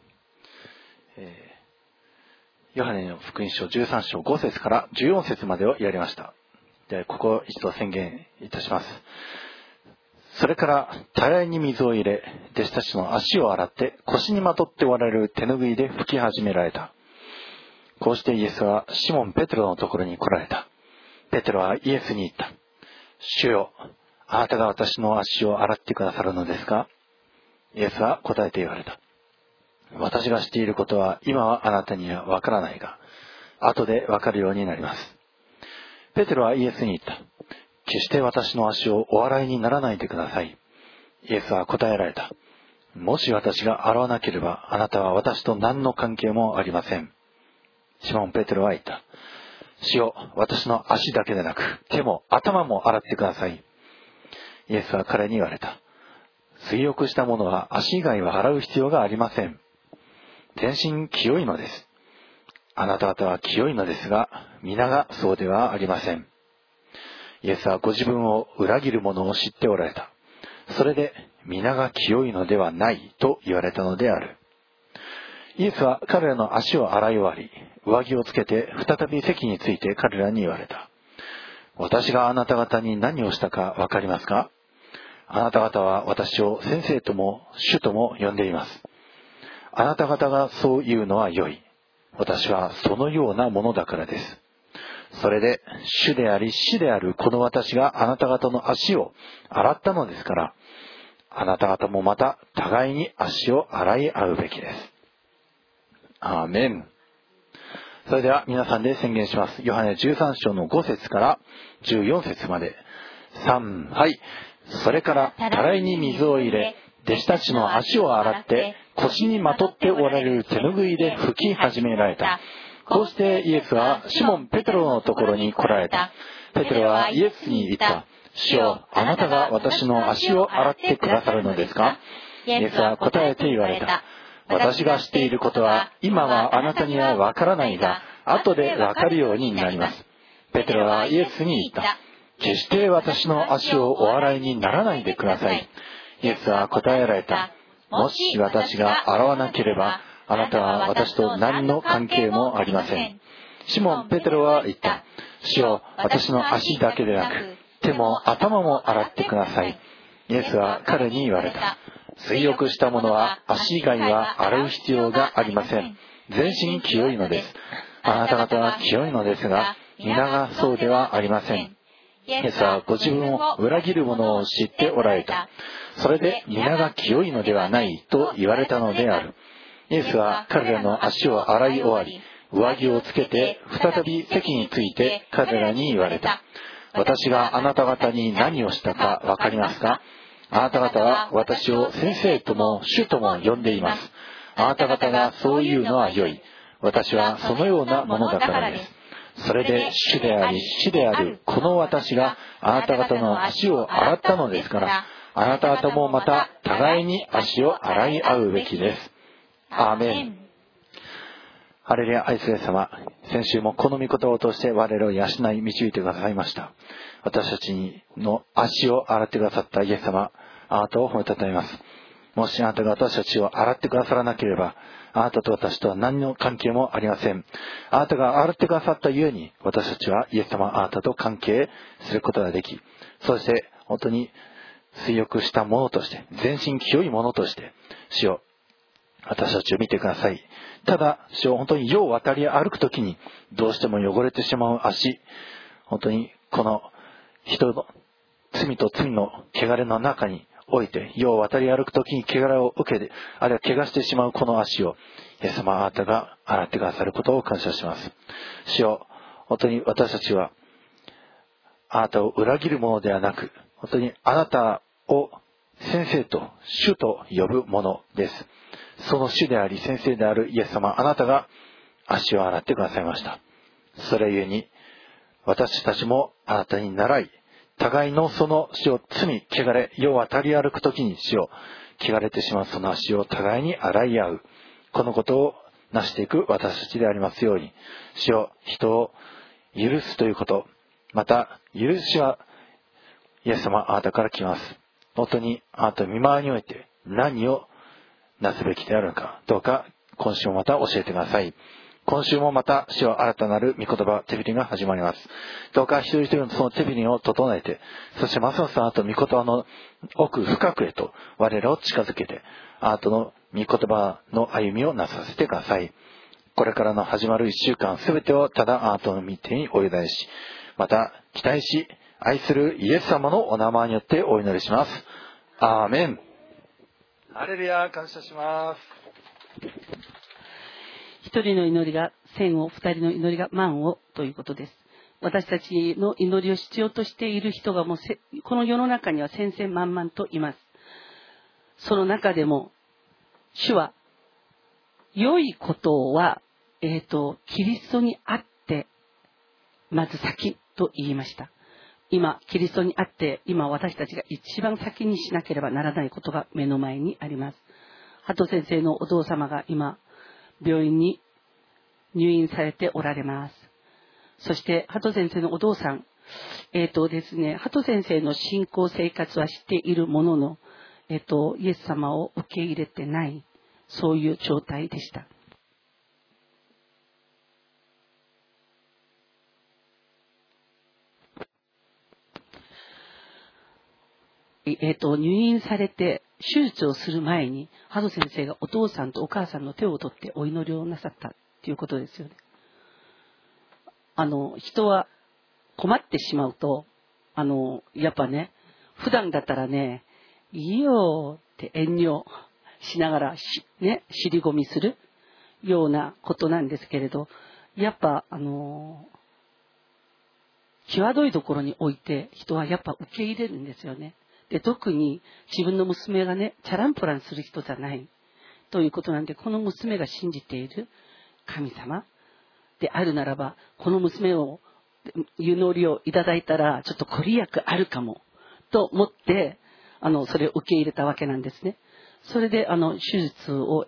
ヨハネの福音書13章5節から14節までをやりました。で、ここを一度宣言いたします。それからたらいに水を入れ、弟子たちの足を洗って腰にまとっておられる手ぬぐいで拭き始められた。こうしてイエスはシモン・ペテロのところに来られた。ペテロはイエスに言った。主よ、あなたが私の足を洗ってくださるのですか？イエスは答えて言われた。私がしていることは今はあなたにはわからないが、後でわかるようになります。ペテロはイエスに言った。決して私の足をお洗いにならないでください。イエスは答えられた。もし私が洗わなければ、あなたは私と何の関係もありません。シモン・ペテロは言った。主よ、私の足だけでなく、手も頭も洗ってください。イエスは彼に言われた。水浴した者は足以外は洗う必要がありません。全身清いのです。あなた方は清いのですが、皆がそうではありません。イエスはご自分を裏切る者を知っておられた。それで、皆が清いのではないと言われたのである。イエスは彼らの足を洗い終わり、上着をつけて再び席について彼らに言われた。私があなた方に何をしたかわかりますか？あなた方は私を先生とも主とも呼んでいます。あなた方がそう言うのは良い。私はそのようなものだからです。それで主であり死であるこの私があなた方の足を洗ったのですから、あなた方もまた互いに足を洗い合うべきです。アーメン。それでは皆さんで宣言します。ヨハネ13章の5節から14節まで。3、はい。それからたらいに水を入れ、弟子たちの足を洗って腰にまとっておられる手ぬぐいで拭き始められた。こうしてイエスはシモン・ペテロのところに来られた。ペテロはイエスに言った。主よ、あなたが私の足を洗ってくださるのですか？イエスは答えて言われた。 私がしていることは今はあなたにはわからないが、後でわかるようになります。ペテロはイエスに言った。決して私の足をお洗いにならないでください。イエスは答えられた。もし私が洗わなければ、あなたは私と何の関係もありません。シモン・ペテロは言った。主よ、私の足だけでなく、手も頭も洗ってください。イエスは彼に言われた。水浴した者は足以外は洗う必要がありません。全身清いのです。あなた方は清いのですが、皆がそうではありません。イエスはご自分を裏切る者を知っておられた。それで皆が清いのではないと言われたのである。イエスは彼らの足を洗い終わり、上着をつけて再び席について彼らに言われた。私があなた方に何をしたかわかりますか？あなた方は私を先生とも主とも呼んでいます。あなた方がそういうのは良い。私はそのようなものだからです。それで主であり死であるこの私があなた方の足を洗ったのですから、あなた方もまた互いに足を洗い合うべきです。アーメン。ハレルヤ。愛する様、先週もこの御言葉を通して我らを養い導いてくださいました。私たちの足を洗ってくださったイエス様、あなたを褒めたたえます。もしあなたが私たちを洗ってくださらなければ、あなたと私とは何の関係もありません。あなたが洗ってくださったゆえに、私たちはイエス様、あなたと関係することができ、そして本当に水浴したものとして、全身清いものとして、主よ、私たちを見てください。ただ、主よ、本当に世を渡り歩くときに、どうしても汚れてしまう足、本当にこの人の罪と罪の汚れの中において、世を渡り歩くときに汚れを受けて、あるいは怪我してしまうこの足を、イエス様、あなたが洗ってくださることを感謝します。主よ、本当に私たちは、あなたを裏切るものではなく、本当にあなたを先生と主と呼ぶものです。その主であり先生であるイエス様、あなたが足を洗ってくださいました。それゆえに私たちもあなたに倣い、互いのその主を罪、汚れ、世を渡り歩くときに主を汚れてしまうその足を互いに洗い合う、このことを成していく私たちでありますように、主を人を許すということ、また許しはイエス様、あなたから来ます。本当にあなたの御前において何をなすべきであるのか、どうか今週もまた教えてください。今週もまた主は新たなる御言葉、手振りが始まります。どうか一人一人のその手振りを整えて、そしてますますあなたの御言葉の奥深くへと我らを近づけて、あなたの御言葉の歩みをなさせてください。これからの始まる一週間すべてをただあなたの御手にお委ねし、また期待し愛するイエス様のお名前によってお祈りします。アーメン。ハレルヤ。感謝します。 一人の祈りが千を、二人の祈りが万をということです。私たちの祈りを必要としている人がもうこの世の中には千々万々といます。その中でも主は良いことは、キリストにあってまず先と言いました。今キリストにあって今私たちが一番先にしなければならないことが目の前にあります。鳩先生のお父様が今病院に入院されておられます。そして鳩先生のお父さん、ですね、鳩先生の信仰生活はしているものの、イエス様を受け入れてない、そういう状態でした。入院されて手術をする前に鳩先生がお父さんとお母さんの手を取ってお祈りをなさったということですよね。人は困ってしまうとやっぱね、普段だったらね、いいよって遠慮しながらね、尻込みするようなことなんですけれど、やっぱ際どいところにおいて人はやっぱ受け入れるんですよね。で、特に自分の娘がね、チャランポランする人じゃないということなんで、この娘が信じている神様であるならば、この娘を祈りをいただいたらちょっとご利益あるかもと思ってそれを受け入れたわけなんですね。それで手術をし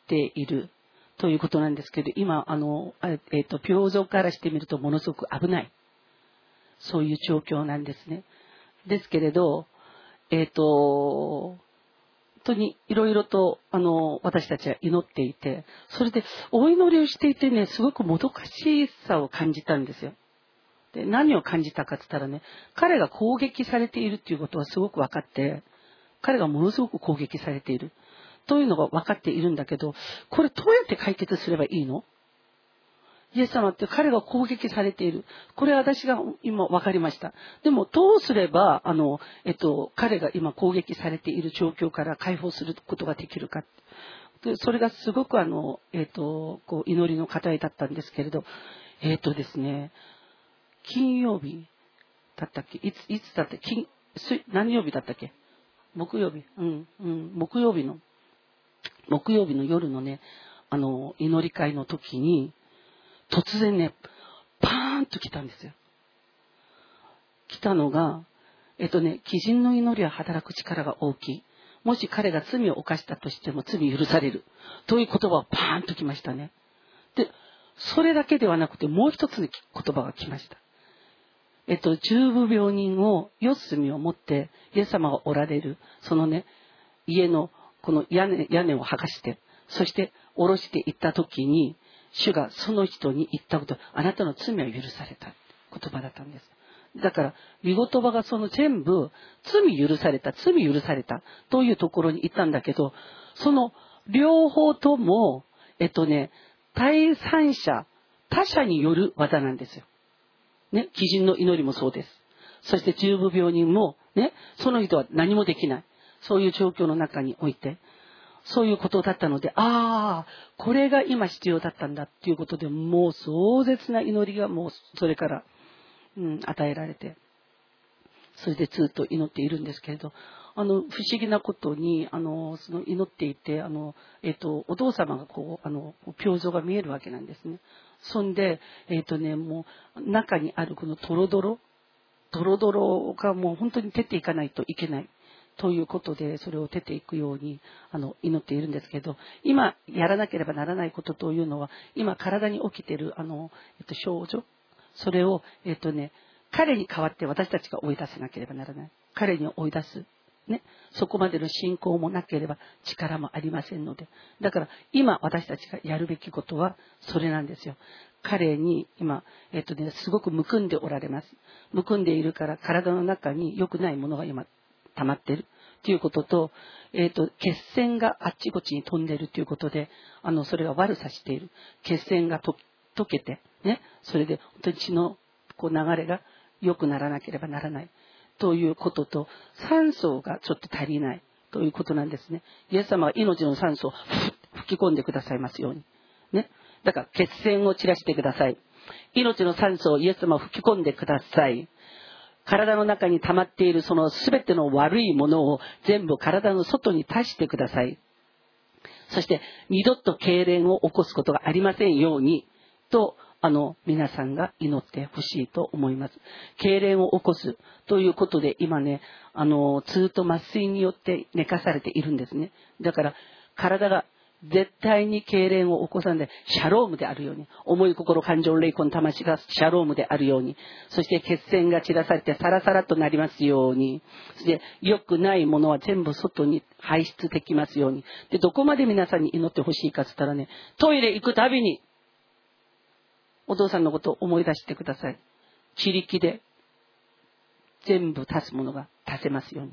っているということなんですけど、今病状からしてみるとものすごく危ない、そういう状況なんですね。ですけれど、本当にいろいろと私たちは祈っていて、それでお祈りをしていてね、すごくもどかしさを感じたんですよ。で、何を感じたかって言ったらね、彼が攻撃されているっていうことはすごく分かって、彼がものすごく攻撃されているというのが分かっているんだけど、これどうやって解決すればいいの？イエス様って彼が攻撃されている。これは私が今分かりました。でもどうすれば彼が今攻撃されている状況から解放することができるか。それがすごくこう祈りの課題だったんですけれど、ですね、金曜日だったっけ、いつだったっけ、何曜日だったっけ、木曜日、木曜日の夜のね、祈り会の時に突然ね、パーンと来たんですよ。来たのが、鬼人の祈りは働く力が大きい。もし彼が罪を犯したとしても罪許される。という言葉がパーンと来ましたね。で、それだけではなくてもう一つの言葉が来ました。重部病人を四隅を持ってイエス様がおられる、そのね、家のこの屋根を剥がして、そして下ろしていった時に、主がその人に言ったこと、あなたの罪は許された言葉だったんです。だから御言葉がその全部罪許されたというところに行ったんだけど、その両方とも第三者、他者による技なんですよね。鬼人の祈りもそうです。そして重部病人もね、その人は何もできない、そういう状況の中において、そういうことだったので、これが今必要だったんだっていうことで、もう壮絶な祈りがもうそれから、与えられて、それでずっと祈っているんですけれど、不思議なことにその祈っていてお父様がこう病状が見えるわけなんですね。そんでもう中にあるこのドロドロがもう本当に出ていかないといけないということで、それを出ていくように祈っているんですけど、今やらなければならないことというのは、今体に起きている症状、それを彼に代わって私たちが追い出せなければならない。彼に追い出すね、そこまでの信仰もなければ力もありませんので、だから今私たちがやるべきことはそれなんですよ。彼に今すごくむくんでおられます。むくんでいるから体の中に良くないものが今溜まっているということと、血栓があっちこっちに飛んでいるということで、それが悪さしている。血栓が溶けてね、それで本当に血の流れが良くならなければならないということと、酸素がちょっと足りないということなんですね。イエス様は命の酸素を吹き込んでくださいますようにね。だから血栓を散らしてください。命の酸素をイエス様は吹き込んでください。体の中に溜まっているその全ての悪いものを全部体の外に出してください。そして二度と痙攣を起こすことがありませんようにと皆さんが祈ってほしいと思います。痙攣を起こすということで今ね、ずっと麻酔によって寝かされているんですね。だから体が絶対に痙攣を起こさないでシャロームであるように、思い心感情霊魂魂がシャロームであるように、そして血栓が散らされてサラサラとなりますように、そして良くないものは全部外に排出できますように。で、どこまで皆さんに祈ってほしいかって言ったらね、トイレ行くたびにお父さんのことを思い出してください。自力で全部足すものが足せますように。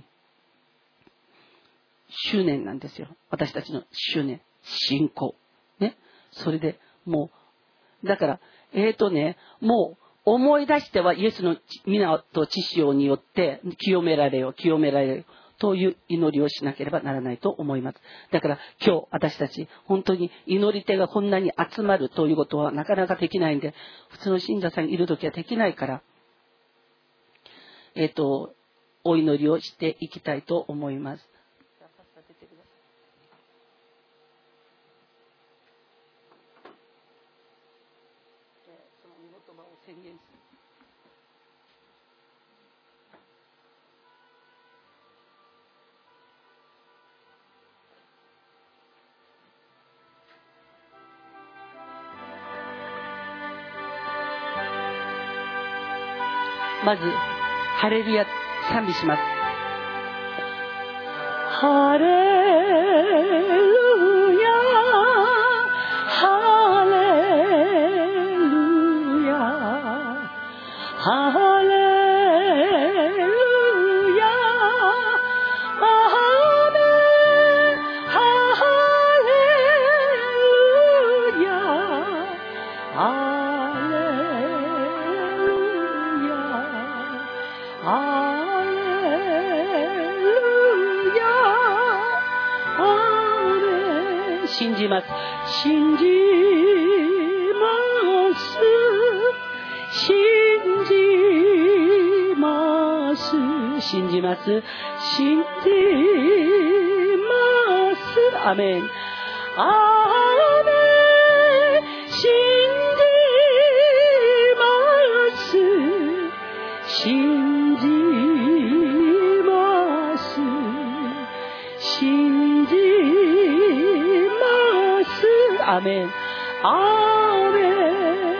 執念なんですよ。私たちの執念、信仰ね。それでもうだからもう思い出してはイエスの皆と知識によって清められよという祈りをしなければならないと思います。だから今日私たち本当に祈り手がこんなに集まるということはなかなかできないんで、普通の信者さんいるときはできないから、お祈りをしていきたいと思います。 まずハレルヤ賛美します。ハレルヤハレルヤハレルヤアーメンハレルヤハレルヤハレルヤアーメン。信じます。信じます信じます信じます信じますアメンアーメン信じます信じます信じますアメンアーメン。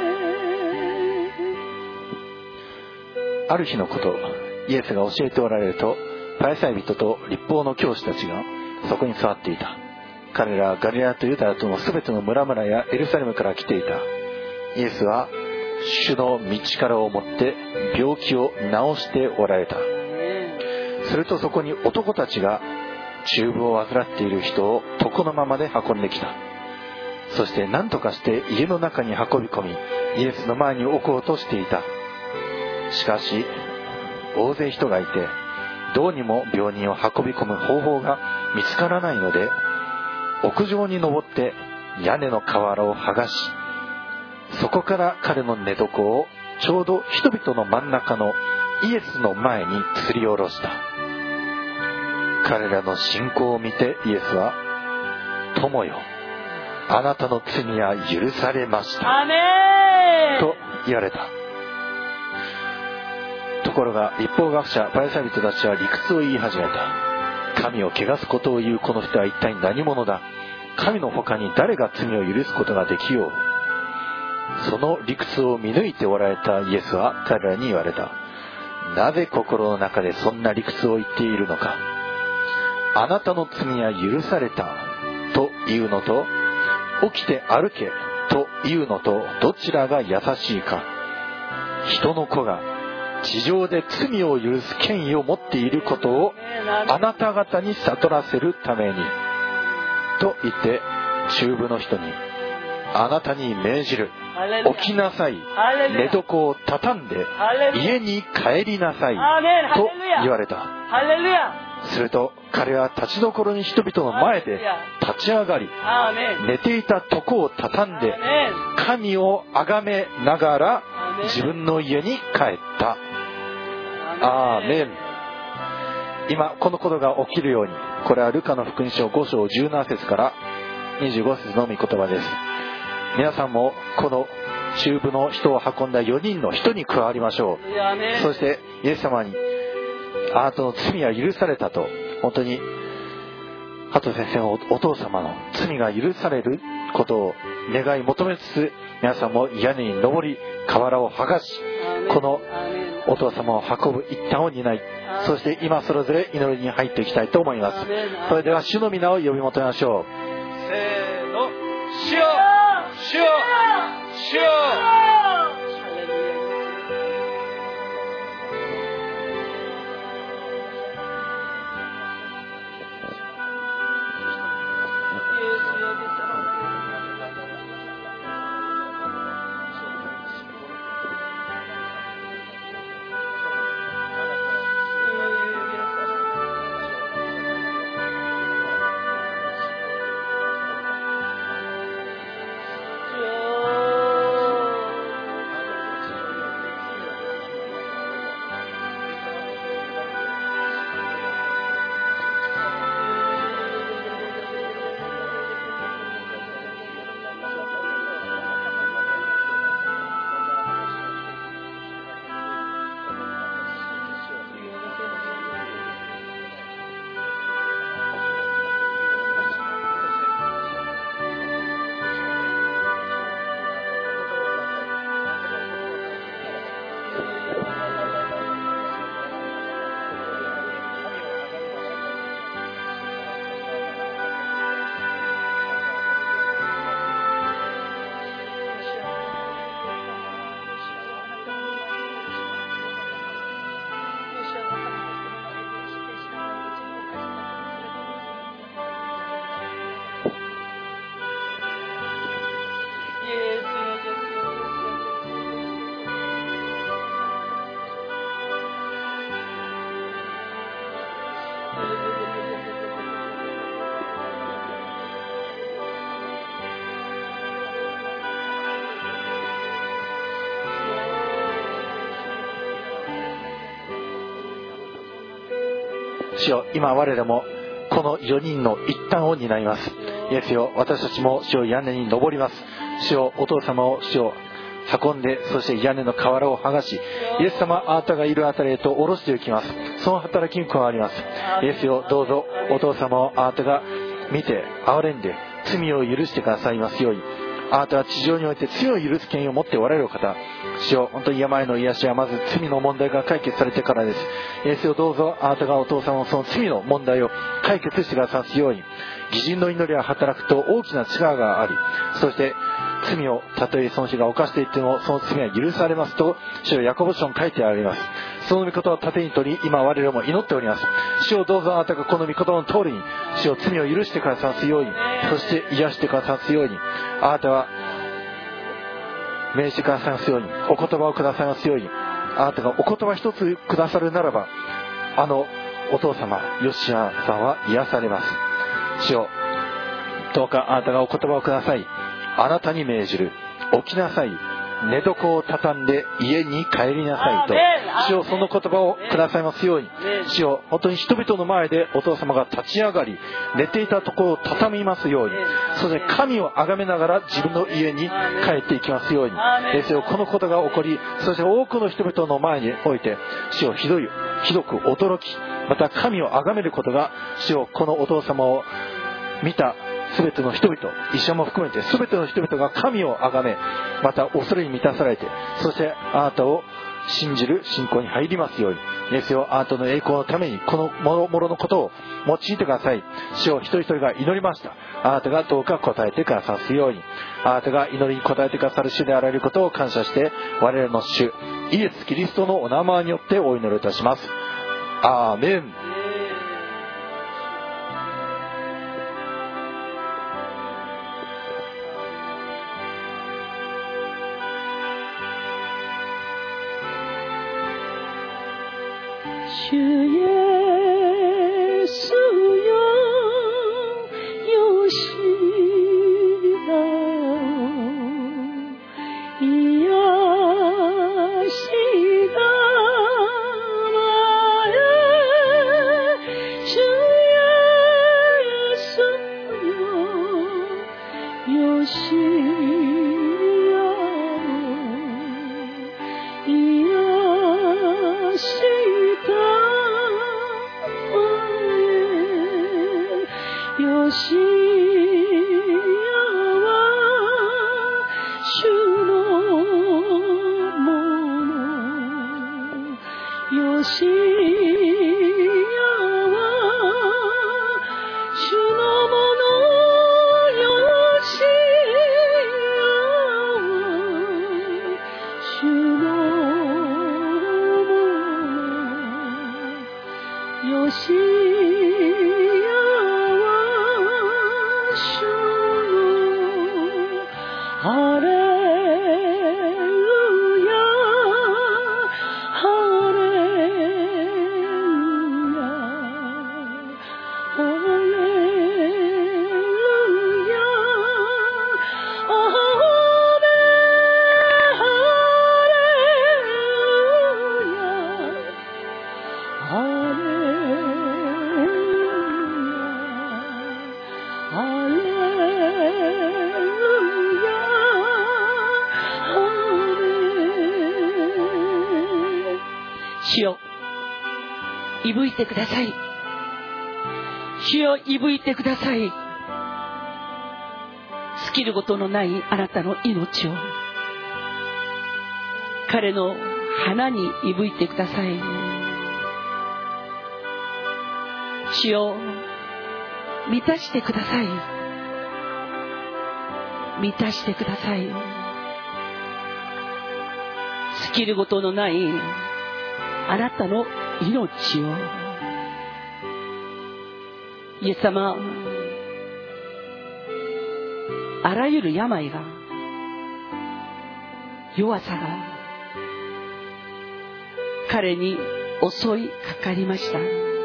ある日のこと、イエスが教えておられると、パリサイ人と律法の教師たちがそこに座っていた。彼らはガリラヤとユダヤとのすべての村々やエルサレムから来ていた。イエスは主の道からをもって病気を治しておられた。するとそこに男たちが中風を患っている人を床のままで運んできた。そして何とかして家の中に運び込み、イエスの前に置こうとしていた。しかし大勢人がいて、どうにも病人を運び込む方法が見つからないので、屋上に登って屋根の瓦を剥がし、そこから彼の寝床をちょうど人々の真ん中のイエスの前に吊り下ろした。彼らの信仰を見てイエスは、友よ、あなたの罪は許されましたと言われた。ところが律法学者パリサイ人たちは理屈を言い始めた。神を汚すことを言うこの人は一体何者だ。神の他に誰が罪を許すことができよう。その理屈を見抜いておられたイエスは彼らに言われた。なぜ心の中でそんな理屈を言っているのか。あなたの罪は許されたというのと、起きて歩けというのと、どちらが優しいか。人の子が地上で罪を許す権威を持っていることをあなた方に悟らせるためにと言って、中部の人に、あなたに命じる、起きなさい、寝床を畳んで家に帰りなさいと言われた。すると彼は立ちどころに人々の前で立ち上がり、寝ていた床を畳んで神を崇めながら自分の家に帰った。アーメン。今このことが起きるように、これはルカの福音書5章17節から25節の御言葉です。皆さんもこの中部の人を運んだ4人の人に加わりましょう。そしてイエス様に、あなたの罪は許されたと、本当に加藤先生のお父様の罪が許されることを願い求めつつ、皆さんも屋根に登り瓦を剥がし、このお父様を運ぶ一端を担い、そして今それぞれ祈りに入っていきたいと思います。それでは主の皆を呼び求めましょう。せーの、主よ、主よ、主よ。 主よ、今我らもこの4人の一端を担います。イエスよ、私たちも主よ、屋根に登ります。主よ、お父様を主よ運んで、そして屋根の瓦を剥がし、イエス様、あなたがいるあたりへと下ろしていきます。その働きに加わります。イエスよ、どうぞお父様をあなたが見て憐れんで罪を許してくださいますように。あなたは地上において罪を許す権威を持っておられる方。主よ、本当に病の癒しはまず罪の問題が解決されてからです。イエスよ、どうぞあなたがお父様のその罪の問題を解決してくださすように。義人の祈りは働くと大きな力があり、そして罪をたとえその人が犯していってもその罪は許されますと主よ、ヤコブ書に書いてあります。その御言葉を盾に取り、今我々も祈っております。主よ、どうぞあなたがこの御言葉の通りに主よ、罪を許してくださすように、そして癒してくださすように、あなたは命じてくださいますように、お言葉をくださいますように。あなたがお言葉一つくださるならば、あのお父様ヨシアさんは癒されます。主よ、どうかあなたがお言葉をください。あなたに命じる。起きなさい。寝床を畳んで家に帰りなさいと。主よ、その言葉をくださいますように。主よ、本当に人々の前でお父様が立ち上がり、寝ていたところを畳みますように。そして神を崇めながら自分の家に帰っていきますように。ですよ、このことが起こり、そして多くの人々の前において、主よ、ひどく驚き、また神を崇めることが、主よ、このお父様を見たすべての人々、医者も含めてすべての人々が神を崇め、また恐れに満たされて、そしてあなたを信じる信仰に入りますように。ですよ、あなたの栄光のためにこのもろのことを用いてください。主を一人一人が祈りました。あなたがどうか答えてくださすように。あなたが祈りに答えてくださる主であられることを感謝して、我々の主イエス・キリストのお名前によってお祈りいたします。アーメン。 主イエスよ、よしだ癒したまえ、主イエスよ、よし癒したよしやは主のもの、よしやは主のもの、よしやは主のもの、よしハレルヤ、ハレルヤ、ハレルヤ、ハレルヤ、ハレ主よ、いぶいてください。主よ、いぶいてください。尽きることのないあなたの命を彼の花にいぶいてください。主よ、満たしてください。満たしてください。尽きることのないあなたの命を。イエス様、あらゆる病が、弱さが彼に襲いかかりました。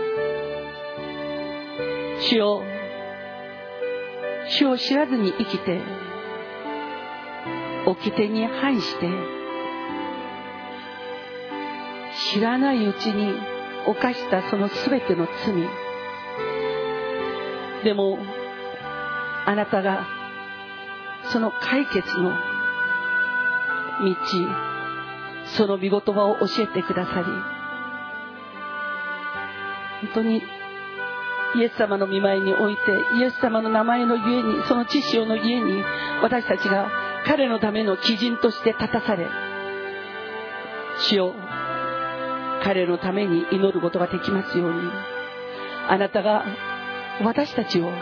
主よ、主を知らずに生きて、掟に反して、知らないうちに犯したその全ての罪、でもあなたがその解決の道、その御言葉を教えてくださり、本当にイエス様の御前において、イエス様の名前のゆえに、その知識のゆえに、私たちが彼のための基人として立たされ、主よ、彼のために祈ることができますように、あなたが私たちを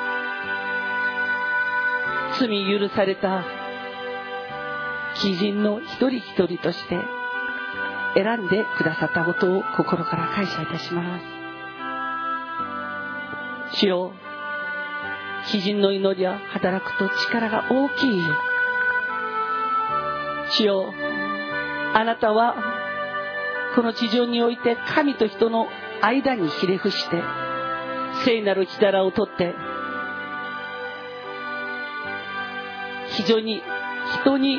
罪許された基人の一人一人として選んでくださったことを心から感謝いたします。主よ、基人の祈りは働くと力が大きい。主よ、あなたはこの地上において神と人の間にひれ伏して聖なる火皿を取って、非常に人に、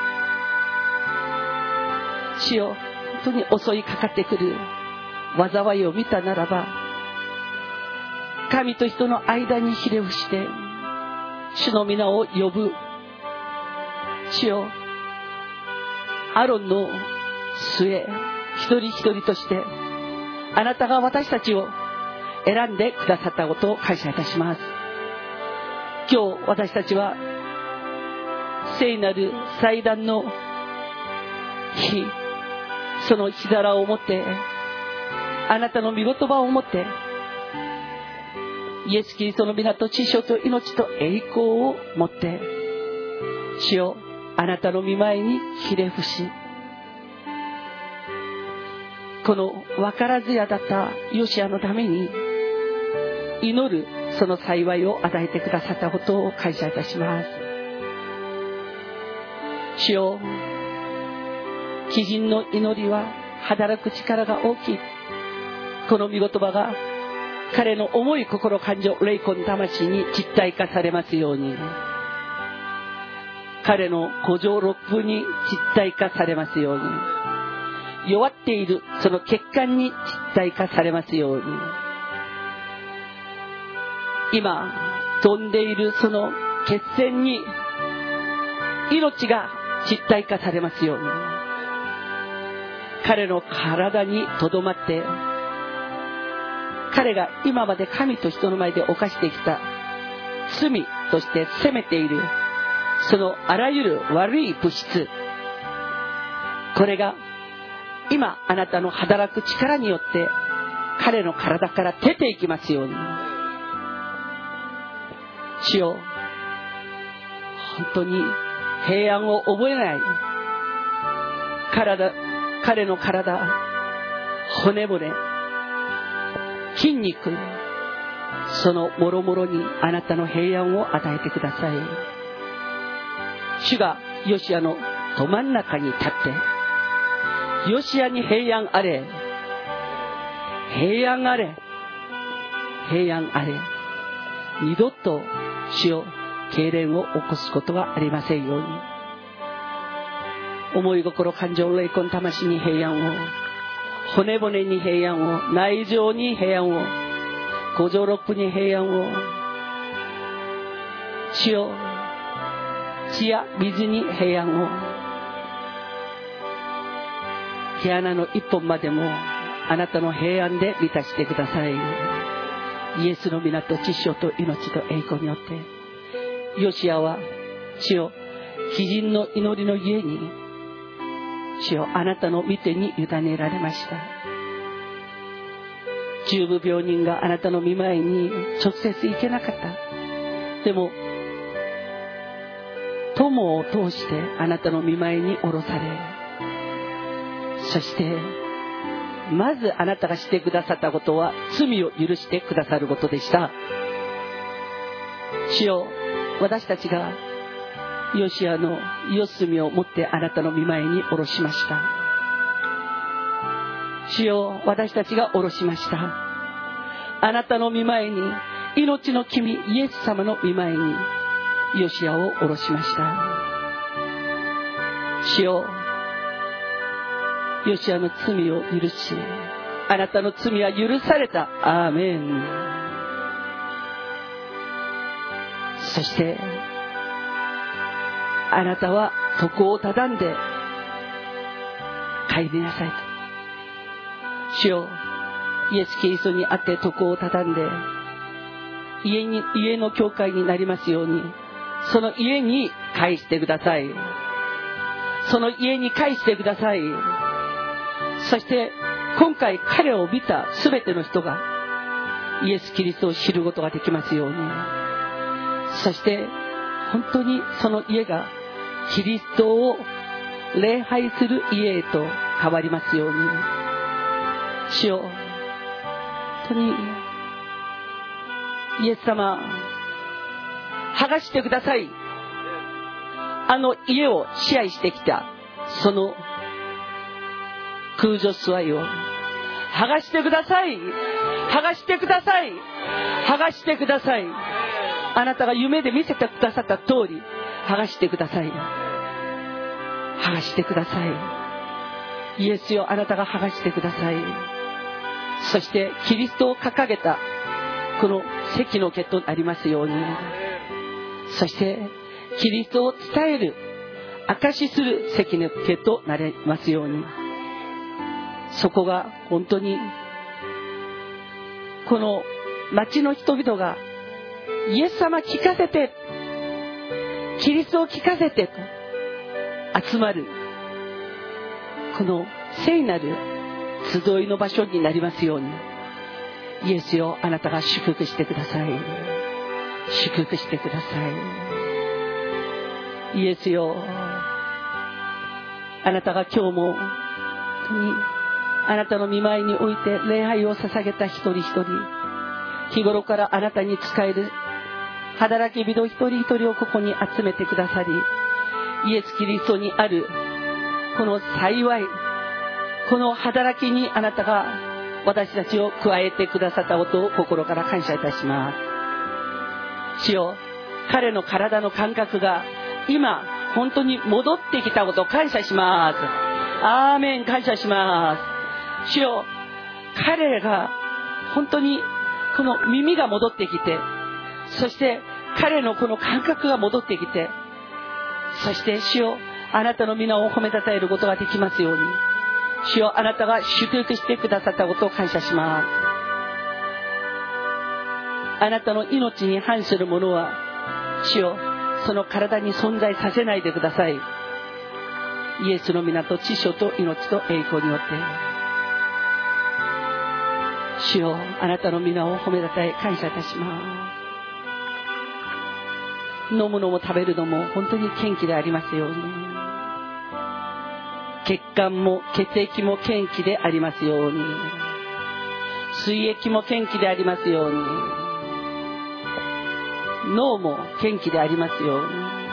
主よ、本当に襲いかかってくる災いを見たならば、神と人の間にひれ伏して主の皆を呼ぶ。主よ、アロンの末一人一人としてあなたが私たちを選んでくださったことを感謝いたします。今日私たちは聖なる祭壇の日、その火皿を持って、あなたの御言葉を持って、イエス・キリストの皆と知性と命と栄光を持って、主よ、あなたの御前にひれ伏し、この分からずやだったヨシアのために祈るその幸いを与えてくださったことを感謝いたします。主よ、基人の祈りは働く力が大きい。この御言葉が彼の重い心、感情、霊魂、魂に実体化されますように、彼の五臓六腑に実体化されますように、弱っているその血管に実体化されますように、今飛んでいるその血栓に命が実体化されますように、彼の体にとどまって、彼が今まで神と人の前で犯してきた罪として責めているそのあらゆる悪い物質、これが今あなたの働く力によって彼の体から出ていきますように。主よ、本当に平安を覚えない彼の体、骨骨、筋肉、そのもろもろにあなたの平安を与えてください。主がヨシアのど真ん中に立って、ヨシアに平安あれ、平安あれ、平安あれ、二度と主よ、痙攣を起こすことがありませんように。思い心、感情、霊魂、魂に平安を、骨骨に平安を、内臓に平安を、五臓六腑に平安を、主よ、血や水に平安を、毛穴の一本までもあなたの平安で満たしてください。イエスの皆と知性と命と栄光によって、ヨシアは主よ、基人の祈りのゆえに主よ、あなたの御手に委ねられました。重部病人があなたの御前に直接行けなかった。でも友を通してあなたの御前に下ろされ、そしてまずあなたがしてくださったことは罪を許してくださることでした。主よ、私たちがヨシアの四隅を持ってあなたの御前に下ろしました。主よ、私たちが下ろしました。あなたの御前に、命の君イエス様の御前にヨシアを下ろしました。主よ、ヨシアの罪を許し、 あなたの罪は許された。アーメン。そしてあなたは床を畳んで帰りなさいと。主よ、イエス・キリストにあって床を畳んで家の教会になりますように、その家に返してください。その家に返してください。そして今回彼を見たすべての人がイエス・キリストを知ることができますように、そして本当にその家がキリストを礼拝する家へと変わりますように。主よ、本当にイエス様、剥がしてください。あの家を支配してきたその空女スワイを剥がしてください。剥がしてください。剥がしてください。あなたが夢で見せてくださった通り剥がしてください。剥がしてください。イエスよ、あなたが剥がしてください。そしてキリストを掲げたこの席の毛となりますように、そしてキリストを伝える証しする席の毛となりますように、そこが本当にこの町の人々がイエス様聞かせて、キリストを聞かせてと集まるこの聖なる集いの場所になりますように。イエスよ、あなたが祝福してください。祝福してください。イエスよ、あなたが今日も本当にあなたの御前において礼拝を捧げた一人一人、日頃からあなたに仕える働き人一人一人をここに集めてくださり、イエス・キリストにあるこの幸い、この働きにあなたが私たちを加えてくださったことを心から感謝いたします。主よ、彼の体の感覚が今本当に戻ってきたことを感謝します。アーメン。感謝します。主よ、彼が本当にこの耳が戻ってきて、そして彼のこの感覚が戻ってきて、そして主よ、あなたの皆を褒めたたえることができますように。主よ、あなたが祝福してくださったことを感謝します。あなたの命に反するものは主よ、その体に存在させないでください。イエスの皆と知性と命と栄光によって、主よ、あなたの皆を褒めたたえ感謝いたします。飲むのも食べるのも本当に元気でありますように。血管も血液も元気でありますように。水液も元気でありますように。脳も元気でありますように。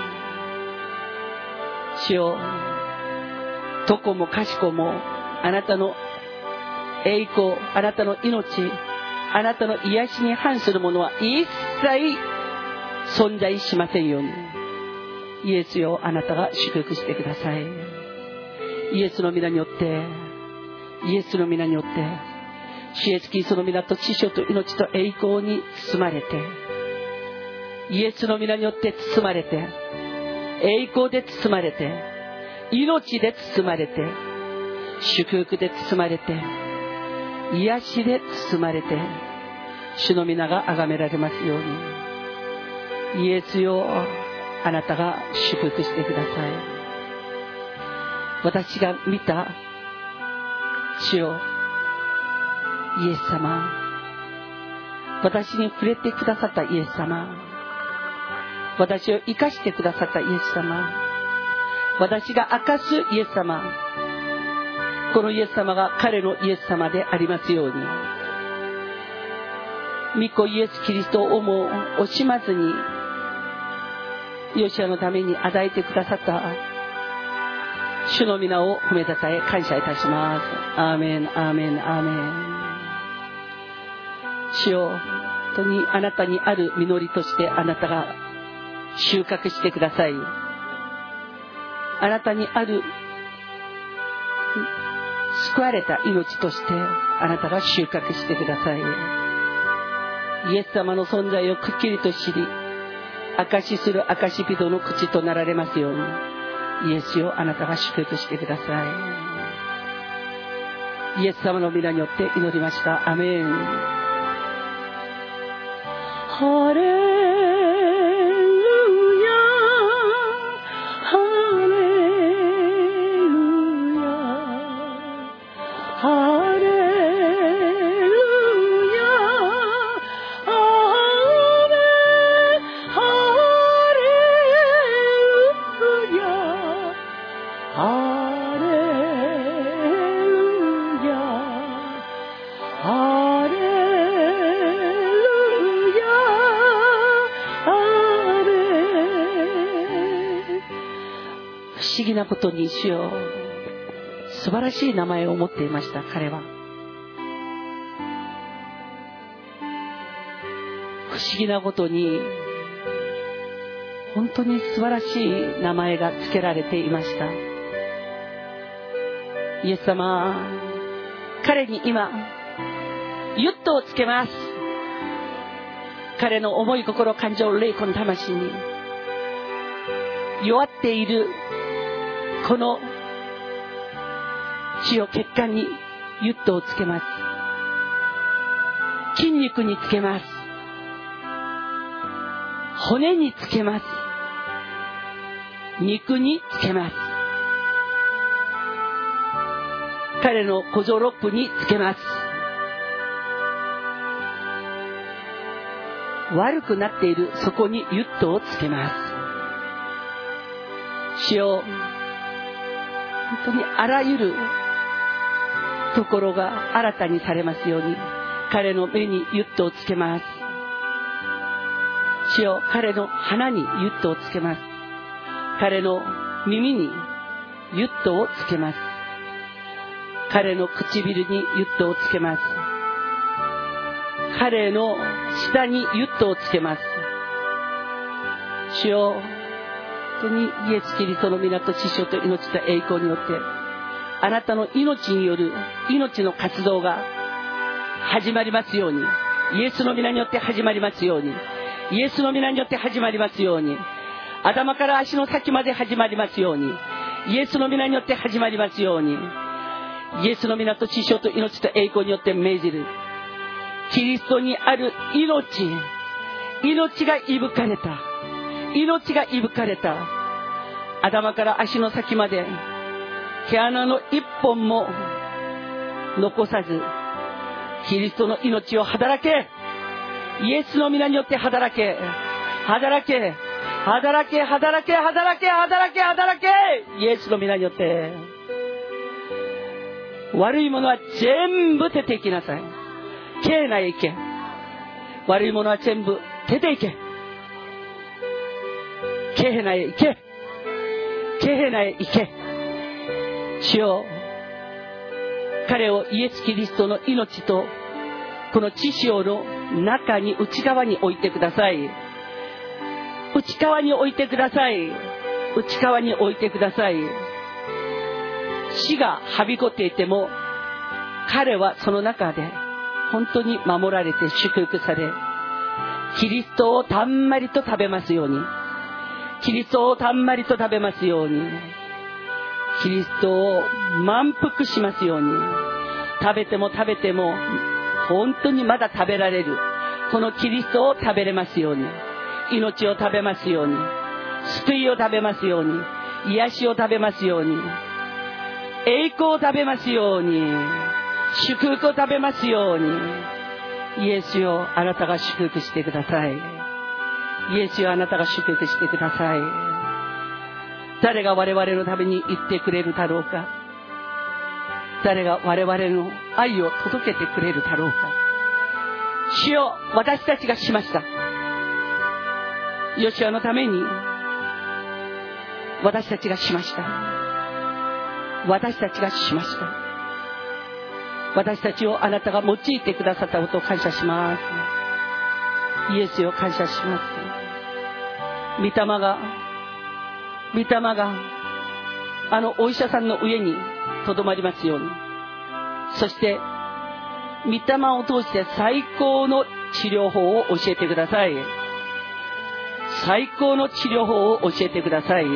主よ、どこもかしこもあなたの栄光、あなたの命、あなたの癒しに反するものは一切存在しませんように。イエスよ、あなたが祝福してください。イエスの皆によって、イエスの皆によって、主イエスキリストの皆と知性と命と栄光に包まれて、イエスの皆によって包まれて、栄光で包まれて、命で包まれて、祝福で包まれて、癒しで包まれて、主の皆が崇められますように。イエスよ、あなたが祝福してください。私が見た主よ、イエス様、私に触れてくださったイエス様、私を生かしてくださったイエス様、私が明かすイエス様、このイエス様が彼のイエス様でありますように。御子イエスキリストをも惜しまずにヨシアのために与えてくださった主の皆を褒めたたえ感謝いたします。アーメン、アーメン、アーメン。主よ、本当にあなたにある実りとしてあなたが収穫してください。あなたにある救われた命としてあなたが収穫してください。イエス様の存在をくっきりと知り、証しする証人の口となられますように、イエスよあなたが祝福してください。イエス様の皆によって祈りました。アメン。ハレルヤ、ハレルヤ、ハレルヤ、アーメン、ハレルヤ、ハレルヤ、ハレルヤ、不思議なことに主よ、素晴らしい名前を持っていました。彼は不思議なことに本当に素晴らしい名前が付けられていました。イエス様、彼に今ユットをつけます。彼の思い、心、感情、霊魂、魂に弱っているこの血を血管にユットをつけます。筋肉につけます。骨につけます。肉につけます。彼の小僧ロップにつけます。悪くなっているそこにユットをつけます。主よ、本当にあらゆるところが新たにされますように、彼の目にユットをつけます。主よ、彼の鼻にユットをつけます。彼の耳にユットをつけます。彼の唇にユットをつけます。彼の舌にユットをつけます。主よ、本当にイエス・キリストの皆と知性と命と栄光によってあなたの命による命の活動が始まりますように、イエスの皆によって始まりますように、イエスの皆によって始まりますように、頭から足の先まで始まりますように、イエスの皆によって始まりますように、イエスの皆と知性と命と栄光によって命じるキリストにある命がいぶかれた、命がいぶかれた、頭から足の先まで毛穴の一本も残さずキリストの命を働け、イエスの皆によって働け、働け、働け、働け、働け、働け、働け、イエスの皆によって。悪いものは全部出ていきなさい。けえないけ。悪いものは全部出ていけ。けえないけ。けえないけ。主よ、彼をイエス・キリストの命とこの知性の中に、内側に置いてください。内側に置いてください。内側に置いてください。死がはびこっていても彼はその中で本当に守られて祝福され、キリストをたんまりと食べますように、キリストをたんまりと食べますように、キリストを満腹しますように、食べても食べても本当にまだ食べられるこのキリストを食べれますように、命を食べますように、救いを食べますように、癒しを食べますように、栄光を食べますように、祝福を食べますように。イエスよ、あなたが祝福してください。イエスよ、あなたが祝福してください。誰が我々のために言ってくれるだろうか。誰が我々の愛を届けてくれるだろうか。主よ、私たちがしました。ヨシュアのために私たちがしました。私たちがしました。私たちをあなたが用いてくださったことを感謝します。イエスよ、感謝します。御霊があのお医者さんの上にとどまりますように、 そして御霊を通して最高の治療法を教えてください。最高の治療法を教えてください。御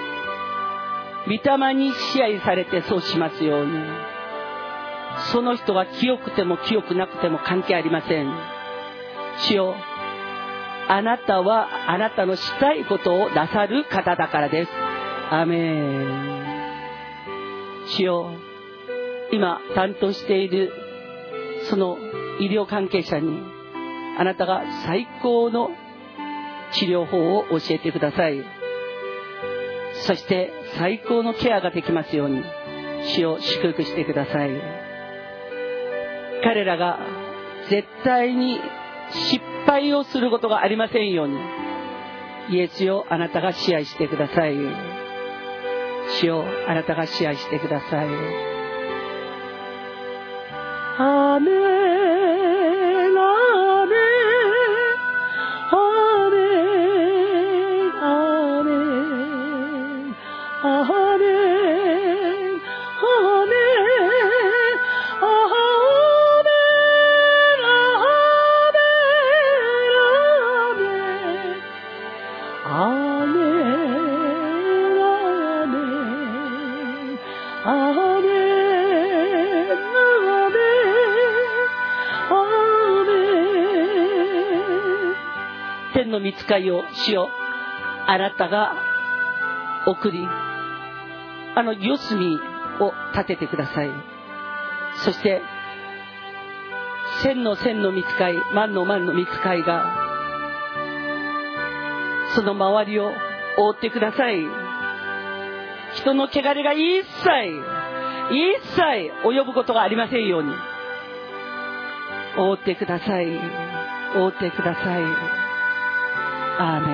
霊に支配されてそうしますように。その人が清くても清くなくても関係ありません。主よ、あなたはあなたのしたいことをなさる方だからです。アーメン。主よ、今担当しているその医療関係者にあなたが最高の治療法を教えてください。そして最高のケアができますように主を祝福してください。彼らが絶対に失敗をすることがありませんようにイエスよ、あなたが支配してください。主よ、あなたが支配してください。アーメン、アーメン、アーメン、アーメン、アーメン、アーメン、アーメン、天の御使いを主よ、あなたが送り、四隅を立ててください。そして千の御使い、万の御使いがその周りを覆ってください。人の汚れが一切及ぶことがありませんように覆ってください。覆ってください。アーメン、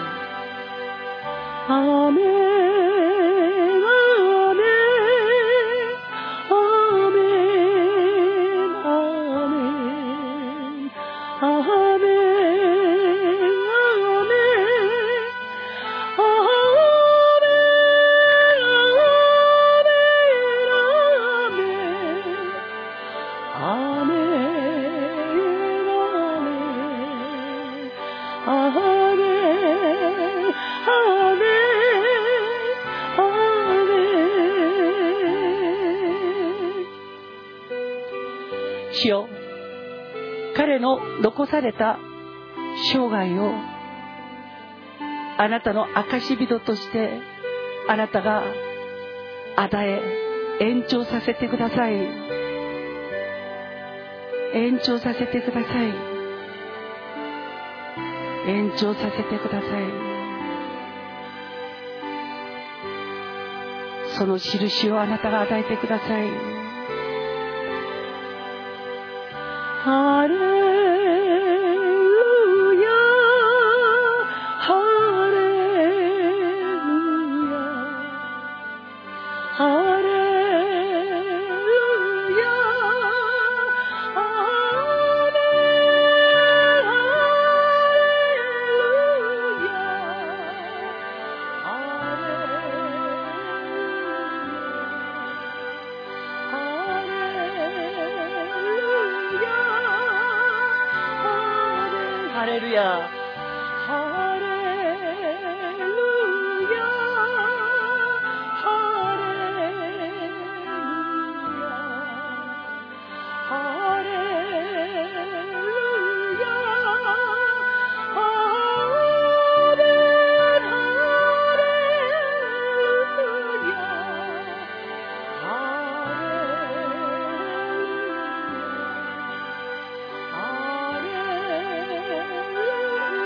アーメン、アーメン、アーメン、アーメン、アーメン、主よ、彼の残された生涯をあなたの証人としてあなたが与え延長させてください。延長させてください。延長させてください。その印をあなたが与えてください。ハレルヤ、ハレルヤ、ハレルヤ、ハレルヤ、ハレルヤ、ハレルヤ、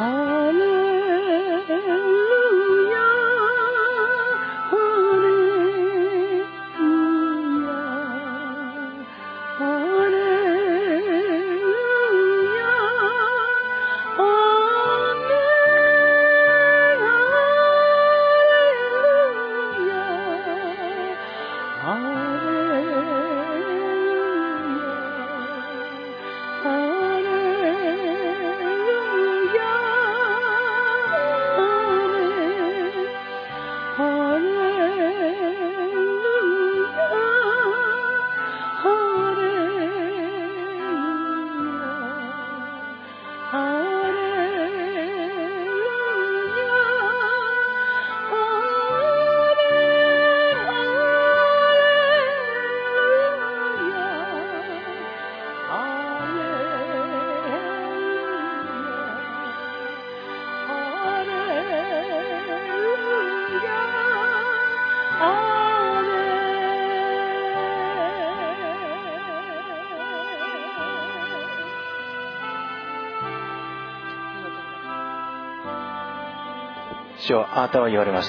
主よ、あなたは言われました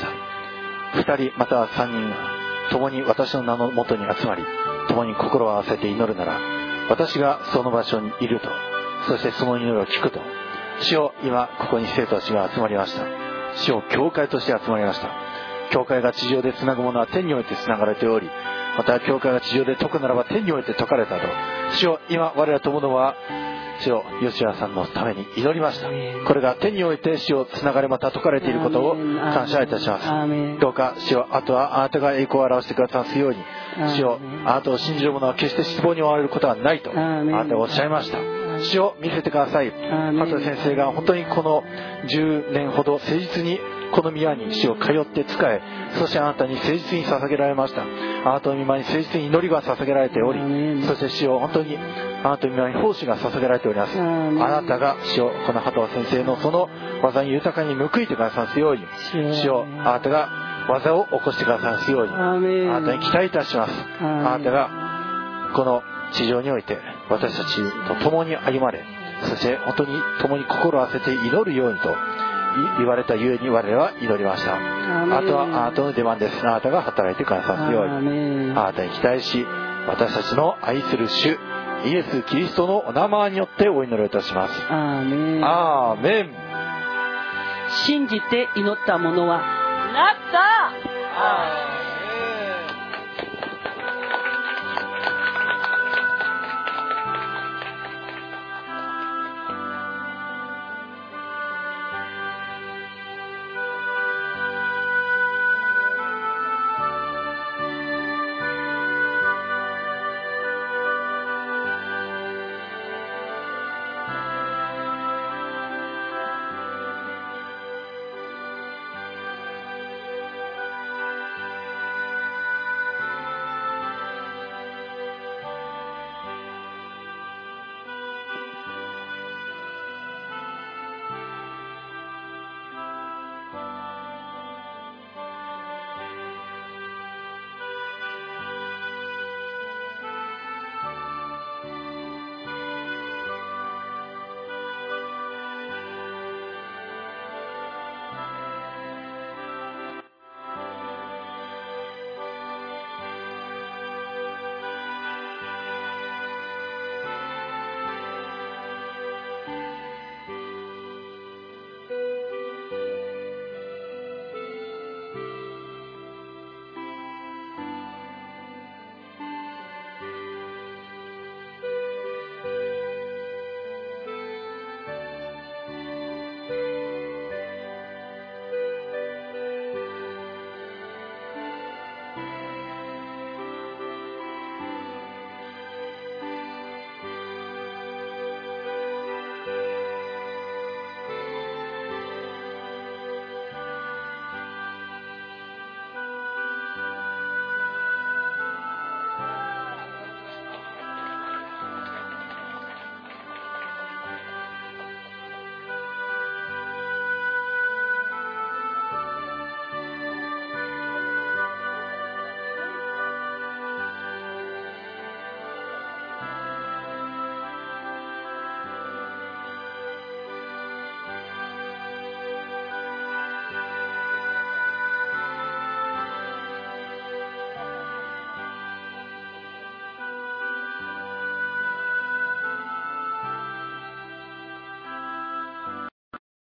。2人または3人共に私の名のもとに集まり、共に心を合わせて祈るなら、私がその場所にいると、そしてその祈りを聞くと。主よ、今ここに生徒たちが集まりました。主よ、教会として集まりました。教会が地上でつなぐものは天においてつながれており、また教会が地上で解くならば天において解かれたと。主よ、今我ら友のは主よ、吉谷さんのために祈りました。これが天において主よ、つながれまた解かれていることを感謝いたします。どうか主よ、あとはあなたが栄光を表してくださいますように、主よ、あなたを信じる者は決して失望に終われることはないとあなたがおっしゃいました。主を見せてください。羽鳥先生が本当にこの10年ほど誠実にこの宮に主を通って仕え、そしてあなたに誠実に捧げられました。あなたの御前に誠実に祈りが捧げられており、そして主を本当にあなたの御前に奉仕が捧げられております。あなたが主をこの羽鳥先生のその技に豊かに報いてくださいますように、主をあなたが技を起こしてくださいますように、あなたに期待いたします。あなたがこの地上において私たちと共に歩まれ、そして本当に共に心を合わせて祈るようにと言われたゆえに我々は祈りました。あとはあなたの出番です。あなたが働いてくださるように、あなたに期待し、私たちの愛する主イエス・キリストのお名前によってお祈りいたします。アーメン。 信じて祈った者はなった。